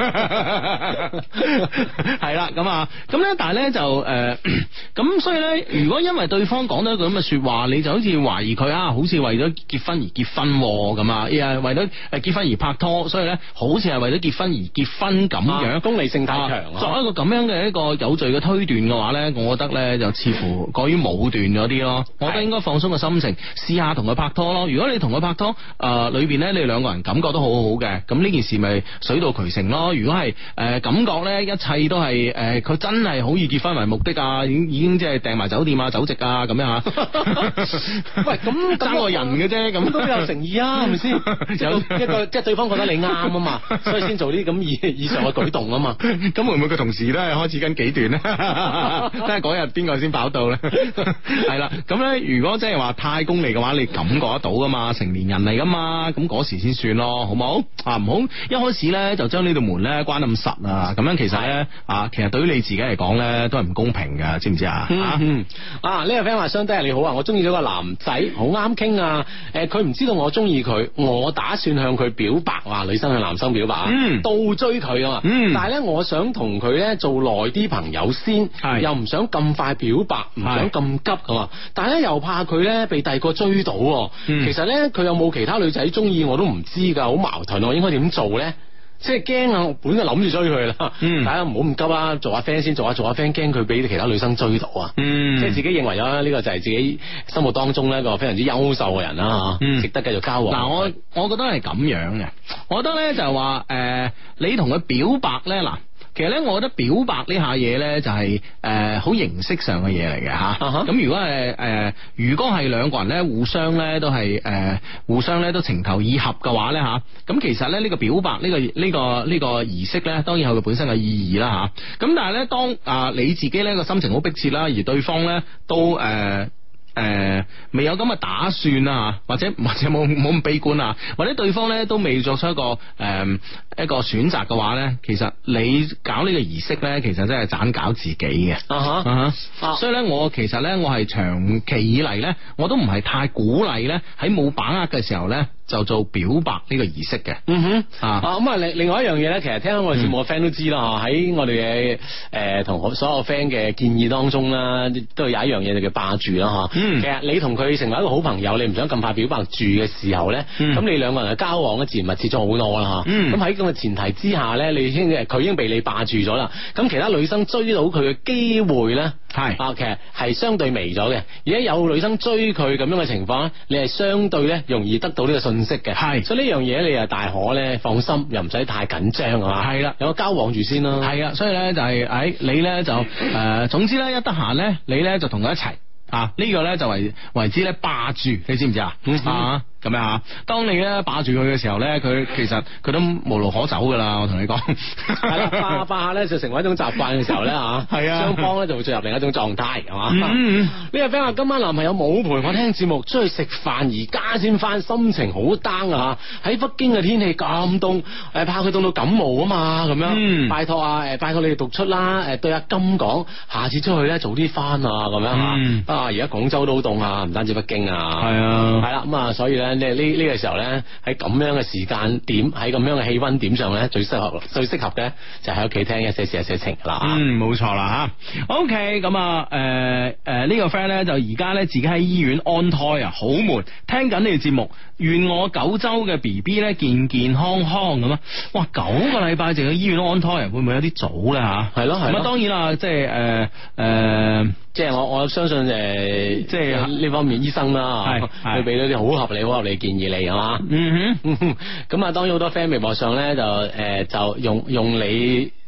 啦，咁咧，但係咧就咁所以咧，如果因為對方講咗一句咁嘅說話，你就好似懷疑佢好似為咗結婚而結婚咁啊，為咗結婚而拍拖，所以咧好似係為咗結婚而結婚咁樣， 功利性太強。 作一個咁樣嘅一個有罪嘅推斷嘅話咧，我覺得咧就似乎過於武斷咗啲咯。我覺得應該放鬆個心情，試下同佢拍拖咯。如果你同佢拍拖裏邊咧，你兩個人感覺都好好嘅，咁呢件事咪水到渠成咯。如果係感覺咧，一切都係佢真係好以結婚為目的啊，已經即係訂埋酒店啊、酒席啊咁樣吓。 喂，咁爭個人嘅啫，咁都有誠意啊，係咪先？有一個即係對方覺得你啱啊嘛，所以先做啲咁以上嘅舉動啊嘛。 咁會唔會佢同時都係開始緊幾段咧？睇下嗰日邊個先跑到咧？係啦，咁咧如果即係話太功利嘅話，你感覺得到噶嘛？成年人嚟噶嘛？咁嗰時先算咯，好冇？唔好一開始咧就將呢道門咧關咁實啊！咁樣其實咧其實對於你自己嚟講咧都係唔公平噶，知唔知啊？ 呢個 friend 話相低你好啊，我中意咗個男仔，好啱傾啊！佢唔知道我中意佢，我打算向佢表白，話女生向男生表白倒追佢啊嘛！但係咧我想同佢咧做耐啲朋友先，又唔想咁快表白，唔想咁急啊嘛！但係咧又怕佢咧被第二個追到，其實咧佢有冇其他女仔中意我都唔知噶，好矛盾，我應該點做咧？即係驚啊！我本來諗住追佢啦，大家唔好咁急啊，做下 friend 先，做下 friend， 驚佢俾其他女生追到啊！即係自己認為咗呢個就係自己心目當中咧一個非常之優秀嘅人啦，值得繼續交往。 嗱，我覺得係咁樣嘅，我覺得咧就係話你同佢表白咧嗱。其實咧，我覺得表白呢下嘢咧就係好形式上嘅嘢嚟嘅吓。咁如果係兩個人咧互相咧都係互相咧都情投意合嘅話咧吓，咁其實咧呢個表白呢個儀式咧，當然有佢本身嘅意義啦吓。咁但係咧，當你自己咧個心情好迫切啦，而對方咧都未有咁嘅打算啊，或者冇咁悲觀啊，或者對方咧都未作出一個選擇嘅話咧，其實你搞呢個儀式咧，其實真係盞搞自己嘅。所以咧，我其實咧，我係長期以嚟咧，我都唔係太鼓勵咧喺冇把握嘅時候咧就做表白呢個儀式嘅。 另外一樣嘢咧，其實聽我哋節目嘅 friend 都知啦，喺我哋嘅同所有 friend 嘅建議當中啦，都有一樣嘢就叫霸住啦吓。其實你同佢成為一個好朋友，你唔想咁快表白住嘅時候咧，咁你兩個人嘅交往咧自然密切咗好多啦吓。咁喺咁嘅前提之下咧，佢已經被你霸住咗啦。咁其他女生追到佢嘅機會咧，其實係相對微咗嘅。而家有女生追佢咁樣嘅情況咧，你係相對咧容易得到呢個信息嘅。所以呢樣嘢你啊大可咧放心，又唔使太緊張啊嘛。係啦，有個交往住先咯。係啊，所以咧就係你咧就總之咧一得閒咧，你咧就同佢一齊。呢個咧就為之咧霸住，你知唔知啊？咁樣啊，當你咧霸住佢嘅時候咧，佢其實佢都無路可走噶啦，我同你講。係啦，霸下咧就成為一種習慣嘅時候咧係啊，雙方咧就會進入另一種狀態，係嘛？呢個 friend 話今晚男朋友冇陪我聽節目，出去食飯，而家先翻，心情好 down 啊！喺北京嘅天氣咁凍，怕佢凍到感冒啊嘛，咁樣。拜託拜託你哋讀出啦，對阿金講，下次出去咧早啲翻啊，咁樣吓。而家廣州都好凍啊，唔單止北京啊。係啊，係啦，咁啊，所以咧。呢個時候咧，喺咁樣嘅時間點，喺咁樣嘅氣溫點上咧，最適合嘅就喺屋企聽一些事一些情啦。冇錯啦吓。OK，咁呢個 friend 咧就而家咧自己喺醫院安胎啊，好悶，聽緊你哋節目，願我9周嘅 BB 咧健健康康咁啊！哇，9個禮拜就去醫院安胎啊，會唔會有啲早咧吓？係咯。咁啊，當然啦，即係我相信即係呢方面醫生啦，佢俾到啲好合理建議你係嘛？咁啊，當然好多 friend 微博上咧就用你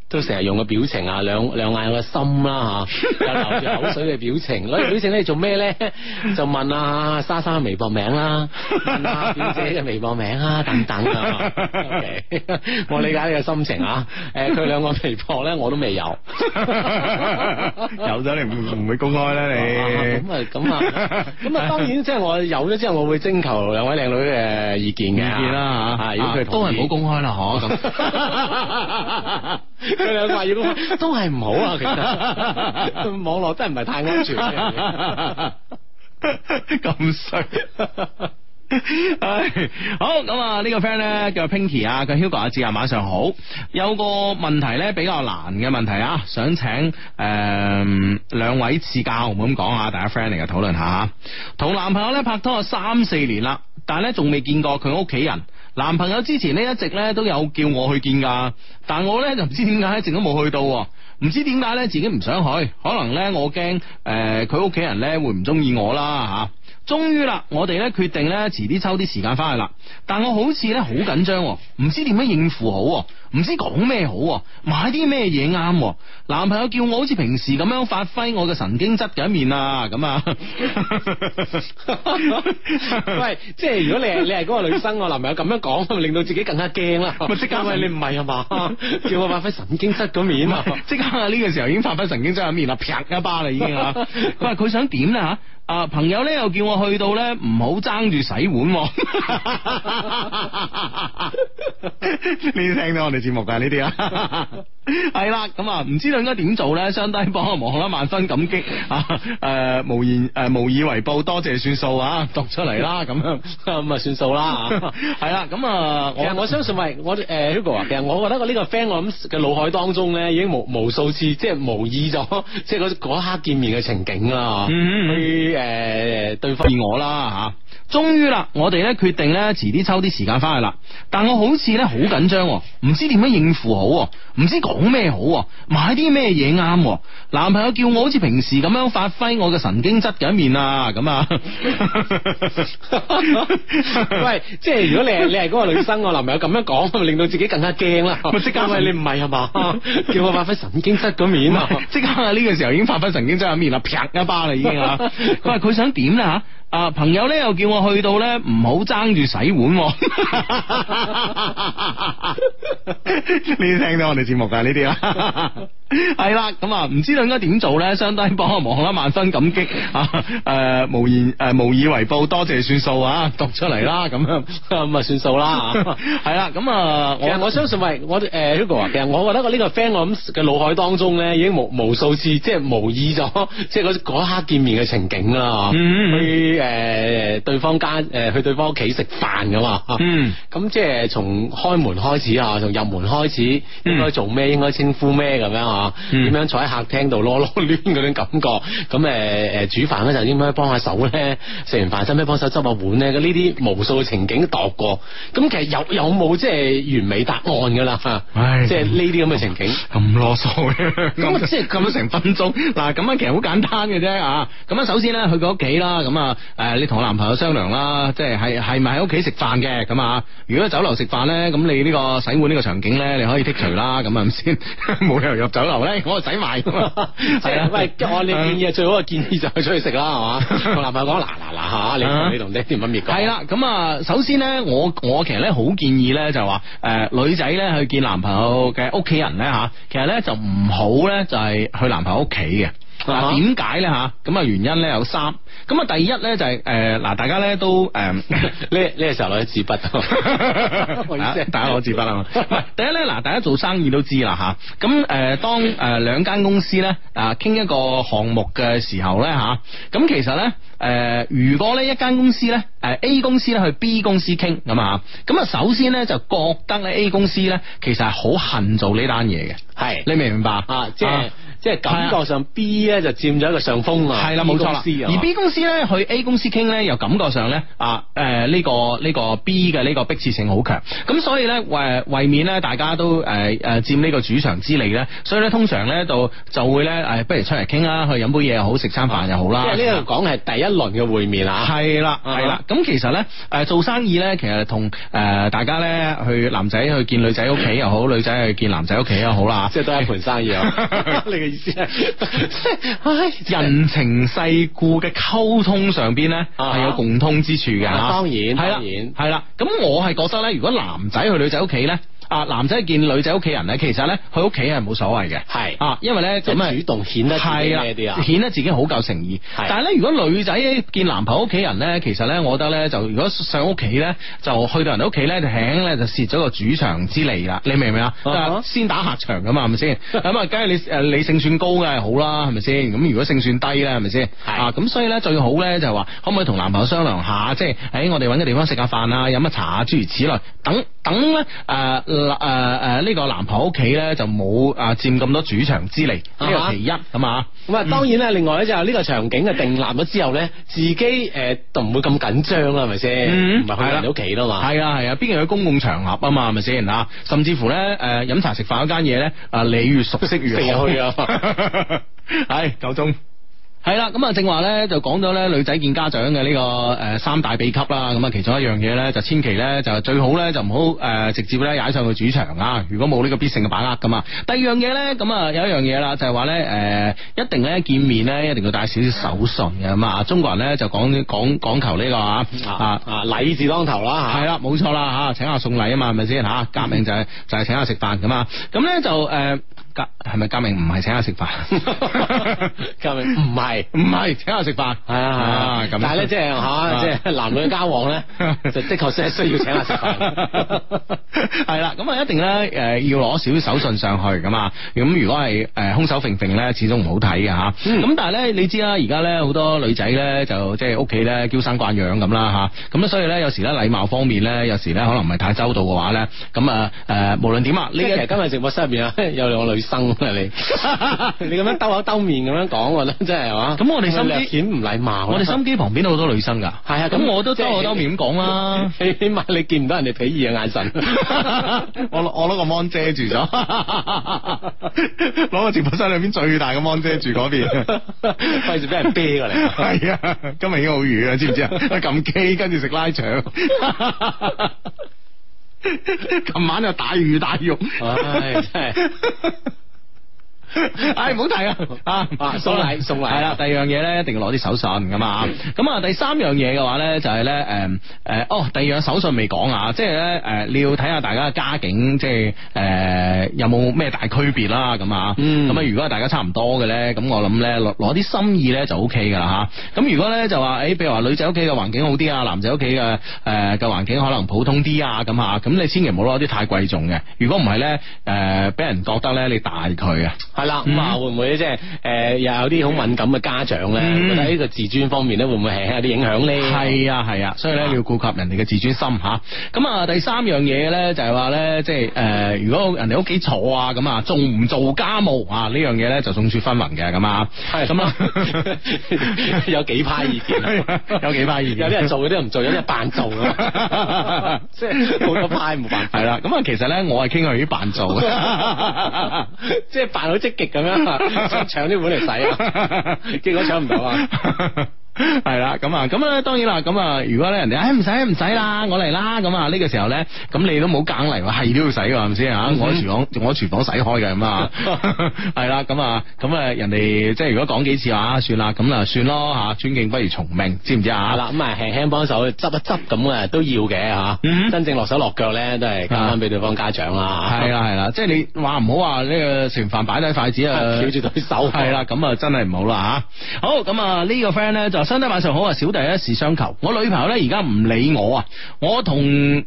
都成日用個表情啊，兩眼有個心啦吓，有流住口水嘅表情，攞表情咧做咩咧？就問啊莎莎嘅微博名啦，問啊表姐嘅微博名啊等等啊。OK， 我理解你嘅心情啊。佢兩個微博咧我都未有， 有咗你唔會公開咧你。 咁啊，當然即係我有咗之後，我會徵求兩位靚女嘅意見嘅。 意見啦吓， 如果佢都係唔好公開啦，嗬咁。 佢兩個話要公開，都係唔好啊。其實網絡真係唔係太安全嘅。 咁衰。唉，好咁啊！呢個 friend 咧叫 Pinky 啊，佢 Hugo 阿志啊，晚上好。有個問題咧比較難嘅問題啊，想請兩位賜教，唔好咁講啊，大家 friend 嚟嘅討論下。同男朋友咧拍拖咗3-4年啦，但係咧仲未見過佢屋企人。男朋友之前咧一直咧都有叫我去見噶，但我咧就唔知點解一直都冇去到，唔知點解咧自己唔想去，可能咧我驚佢屋企人咧會唔中意我啦吓。終於啦，我哋咧決定咧遲啲抽啲時間翻去啦。但我好似咧好緊張，唔知點樣應付好，唔知講咩好，買啲咩嘢啱。男朋友叫我好似平時咁樣發揮我嘅神經質嘅一面啊，咁啊。 喂，即係如果你係嗰個女生，我男朋友咁樣講，咪令到自己更加驚啦。咪即刻喂，你唔係啊嘛？叫我發揮神經質嗰面啊！ 即刻呢個時候已經發揮神經質一面啦，啪一巴啦已經啊！佢話佢想點咧吓？朋友咧又叫我去到咧唔好爭住洗碗。你聽到我哋節目噶呢啲啊？係啦，咁啊唔知道應該點做咧？相低幫我忙啦，萬分感激啊！無以為報，多謝算數啊！讀出嚟啦，咁樣咁啊算數啦。 係啦，咁啊， 其實我相信喂，我Hugo 啊，其實我覺得我呢個 friend 我諗嘅腦海當中咧，已經無數次即係模擬咗，即係嗰一刻見面嘅情景啦。對方而我啦吓，終於啦，我哋咧決定咧遲啲抽啲時間翻去啦。但我好似咧好緊張，唔知點樣應付好，唔知講咩好，買啲咩嘢啱。男朋友叫我好似平時咁樣發揮我嘅神經質嘅一面啊，咁啊。 喂，即係如果你係嗰個女生，我男朋友咁樣講，咪令到自己更加驚啦。即刻喂，你唔係啊嘛？叫我發揮神經質嗰面啊！ 即刻呢個時候已經發揮神經質一面啦，啪一巴啦已經啊！佢話佢想點咧吓？朋友咧又叫我去到咧唔好爭住洗碗。你聽到我哋節目噶呢啲啊？係啦，咁啊唔知道應該點做咧？相低幫我忙啦，萬分感激啊！無以為報，多謝算數啊！讀出嚟啦，咁樣咁啊算數啦。 係啦，咁啊， 我相信喂，我Hugo 啊，其實我覺得我呢個 friend 我諗嘅腦海當中咧，已經無數次即係模擬咗，即係嗰一刻見面嘅情景啦。去對方家去對方屋企食飯噶嘛。咁即係從開門開始啊，從入門開始應該做咩，應該稱呼咩咁樣啊？點樣坐喺客廳度囉囉攣嗰種感覺？咁煮飯嗰陣應該幫下手咧，食完飯使唔使幫手執下碗咧？呢啲無數嘅情景度過，咁其實有冇即係完美答案噶啦？即係呢啲咁嘅情景咁囉嗦嘅， 咁即係咁成分鐘嗱，咁樣其實好簡單嘅啫啊！咁樣首先咧去佢屋企啦，咁啊你同我男朋友商量啦，即係係咪喺屋企食飯嘅咁啊？如果喺酒樓食飯咧，咁你呢個洗碗呢個場景咧，你可以剔除啦，咁係咪先？冇理由入酒樓咧，我洗埋噶嘛。係啊， 喂，按你建議，最好嘅建議就係出去食啦，係嘛？同男朋友講嗱吓，你同爹哋媽咪講。係啦， 咁啊，首先咧，我其實咧好建議咧，就話女仔咧去見男朋友嘅屋企人咧吓，其實咧就唔好咧就係去男朋友屋企嘅。嗱，點解咧吓？咁啊原因咧有3。咁啊第一咧就係嗱，大家咧都呢個時候攞支筆， 大家攞支筆啊嘛。第一咧嗱，大家做生意都知啦吓。咁當2間公司咧傾一個項目嘅時候咧吓，咁其實咧如果咧一間公司咧A 公司咧去 B 公司傾咁啊，咁啊首先咧就覺得咧 A 公司咧其實係好恨做呢單嘢嘅。 係， 你明唔明白啊？即係即係感覺上 B 咧就佔咗一個上風啊。 係啦，冇錯啦。而 B 公司咧去 A 公司傾咧，又感覺上咧呢個 B 嘅呢個迫切性好強。咁所以咧為免咧大家都佔呢個主場之利咧，所以咧通常咧就會咧不如出嚟傾啦，去飲杯嘢又好，食餐飯又好啦。 即係呢度講係第一輪嘅會面啊。 係啦，係啦。咁其實咧做生意咧，其實同大家咧去男仔去見女仔屋企又好，女仔去見男仔屋企又好啦， 即係都係一盤生意啊。你嘅意思係， 人情世故嘅溝通上邊咧係有共通之處嘅。 當然， 係啦。咁我係覺得咧，如果男仔去女仔屋企咧。男仔見女仔屋企人咧，其實咧去屋企係冇所謂嘅，係因為咧咁啊主動顯得自己咩啲啊，顯得自己好夠誠意。但係咧，如果女仔見男朋友屋企人咧，其實咧，我覺得咧，就如果上屋企咧，就去到人哋屋企咧，就輕咧就蝕咗個主場之利啦。你明唔明啊？先打客場噶嘛，係咪先？咁啊，梗係你勝算高嘅係好啦，係咪先？咁如果勝算低咧，係咪先？咁所以咧最好咧就係話，可唔可以同男朋友商量下，即係喺我哋搵個地方食下飯啊，飲下茶啊，諸如此類，等咧呢個男朋友屋企咧就冇佔咁多主場之利，呢個其一咁啊。咁當然咧，另外咧就係呢個場景嘅定立咗之後咧，自己就唔會咁緊張啦，係咪先？唔係去人哋屋企啦嘛。係啊，畢竟去公共場合啊嘛，係咪先啊？甚至乎咧飲茶食飯嗰間嘢咧，你越熟悉越好去啊。係夠鐘。係啦，咁啊正話咧就講咗咧女仔見家長嘅呢個三大秘笈啦，咁啊其中一樣嘢咧就千祈咧就最好咧就唔好直接咧踩上去主場啊，如果冇呢個必勝嘅把握噶嘛。第二樣嘢咧咁啊有一樣嘢啦，就係話咧一定咧見面咧一定要帶少少手信嘅咁啊，中國人咧就講求呢個禮字當頭啦吓。係啦，冇錯啦吓，請客送禮啊嘛，係咪先吓？革命就係請客食飯咁啊，咁咧就係咪革命唔係請客食飯？革命唔係請客食飯，係啊，咁但係咧即係即係男女交往咧，就的確係需要請客食飯。係啦，咁啊一定咧要攞少少手信上去咁啊，咁如果係空手揈揈咧，始終唔好睇嘅吓。咁但係咧你知啦，而家咧好多女仔咧就即係屋企咧嬌生慣養咁啦吓，咁所以咧有時咧禮貌方面咧，有時咧可能唔係太周到嘅話咧，咁無論點啊，呢其實今日直播室入邊啊有兩個女生啊你咁樣兜口兜面咁樣講，我覺得真係嘛。咁我哋心機顯唔禮貌。我哋心機旁邊都好多女生噶。係啊，咁我都兜口兜面咁講啦。起碼你見唔到人哋鄙夷嘅眼神。我攞個 mon 遮住咗，攞個直播室裏邊最大嘅 mon 遮住嗰邊，費事俾人啤過嚟。係啊，今日已經好遠啊，知唔知啊？撳機跟住食拉腸。琴晚就大魚大肉。唉，真係。唔好提啊！送禮係啦，第二樣嘢咧一定要攞啲手信㗎嘛。咁啊，第三樣嘢嘅話咧就係咧第二樣手信未講啊，即係咧你要睇下大家嘅家境，即係有冇咩大區別啦咁啊。咁啊，如果大家差唔多嘅咧，咁我諗咧攞啲心意咧就 O K 噶啦吓。咁如果咧就話譬如話女仔屋企嘅環境好啲啊，男仔屋企嘅環境可能普通啲啊咁吓，咁你千祈唔好攞啲太貴重嘅。如果唔係咧俾人覺得咧你大佢啊。係啦，咁啊會唔會即係又有啲好敏感嘅家長咧？覺得呢個自尊方面咧會唔會係有啲影響咧？係啊，所以咧要顧及人哋嘅自尊心吓。咁啊第三樣嘢咧就係話咧，即係如果人哋屋企坐啊咁啊，做唔做家務啊呢樣嘢咧就眾說紛紜嘅咁啊。係咁啊，有幾派意見，有幾派意見，有啲人做，有啲人唔做，有啲人扮做啊，即係好多派冇辦法。係啦，咁啊其實咧我係傾向於扮做，即係扮好積極咁樣，想搶啲碗嚟洗啊，結果搶唔到啊。係啦，咁啊，當然啦，咁啊，如果咧人哋唔使啦，我嚟啦，咁啊呢個時候咧，咁你都冇硬嚟話係都要洗㗎，係咪先啊？我喺廚房洗開嘅咁啊，係啦，咁啊，人哋即係如果講幾次話算啦，咁啊算咯吓，尊敬不如從命，知唔知啊？係啦，咁啊輕輕幫手執一執咁啊都要嘅吓，真正落手落腳咧都係交翻俾對方家長啦。係啦，即係你話唔好話呢個食完飯擺低筷子啊，翹住對手。係啦，咁啊真係唔好啦吓。好，咁啊呢個 friend 咧就。兄弟晚上好啊，小弟一時相求，我女朋友咧而家唔理我啊，我同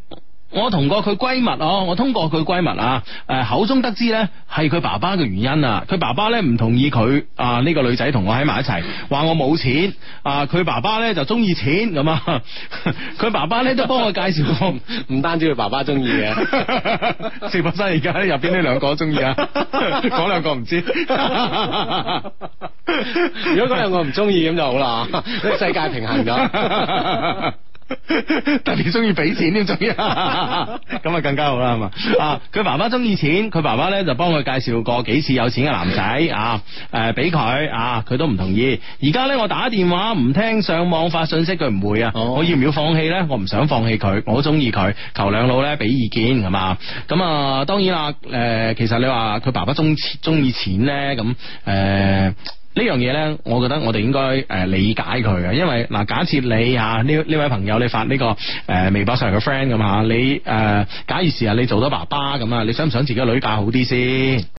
我同過佢閨蜜我通過佢閨蜜口中得知咧係佢爸爸嘅原因啊，佢爸爸咧唔同意佢呢個女仔同我喺埋一齊，話我冇錢佢爸爸咧就中意錢咁啊，佢爸爸咧都幫我介紹過， 唔單止佢爸爸中意嘅， 直播室而家入邊呢兩個中意啊，嗰兩個唔知， 如果嗰兩個唔中意咁就好啦，呢個世界平衡咗。 特別中意俾錢添，仲要咁啊更加好啦，係嘛佢爸爸中意錢，佢爸爸咧就幫佢介紹過幾次有錢嘅男仔俾佢佢都唔同意。而家咧我打電話唔聽，上網發信息佢唔會我要唔要放棄咧？我唔想放棄佢，我好中意佢，求兩老咧俾意見係嘛。咁當然啦其實你話佢爸爸中意錢咧咁呢樣嘢咧，我覺得我哋應該理解佢嘅，因為假設你呢位朋友你發呢個微博上嘅 friend 咁你假如時日你做咗爸爸咁你想唔想自己個女嫁好啲先？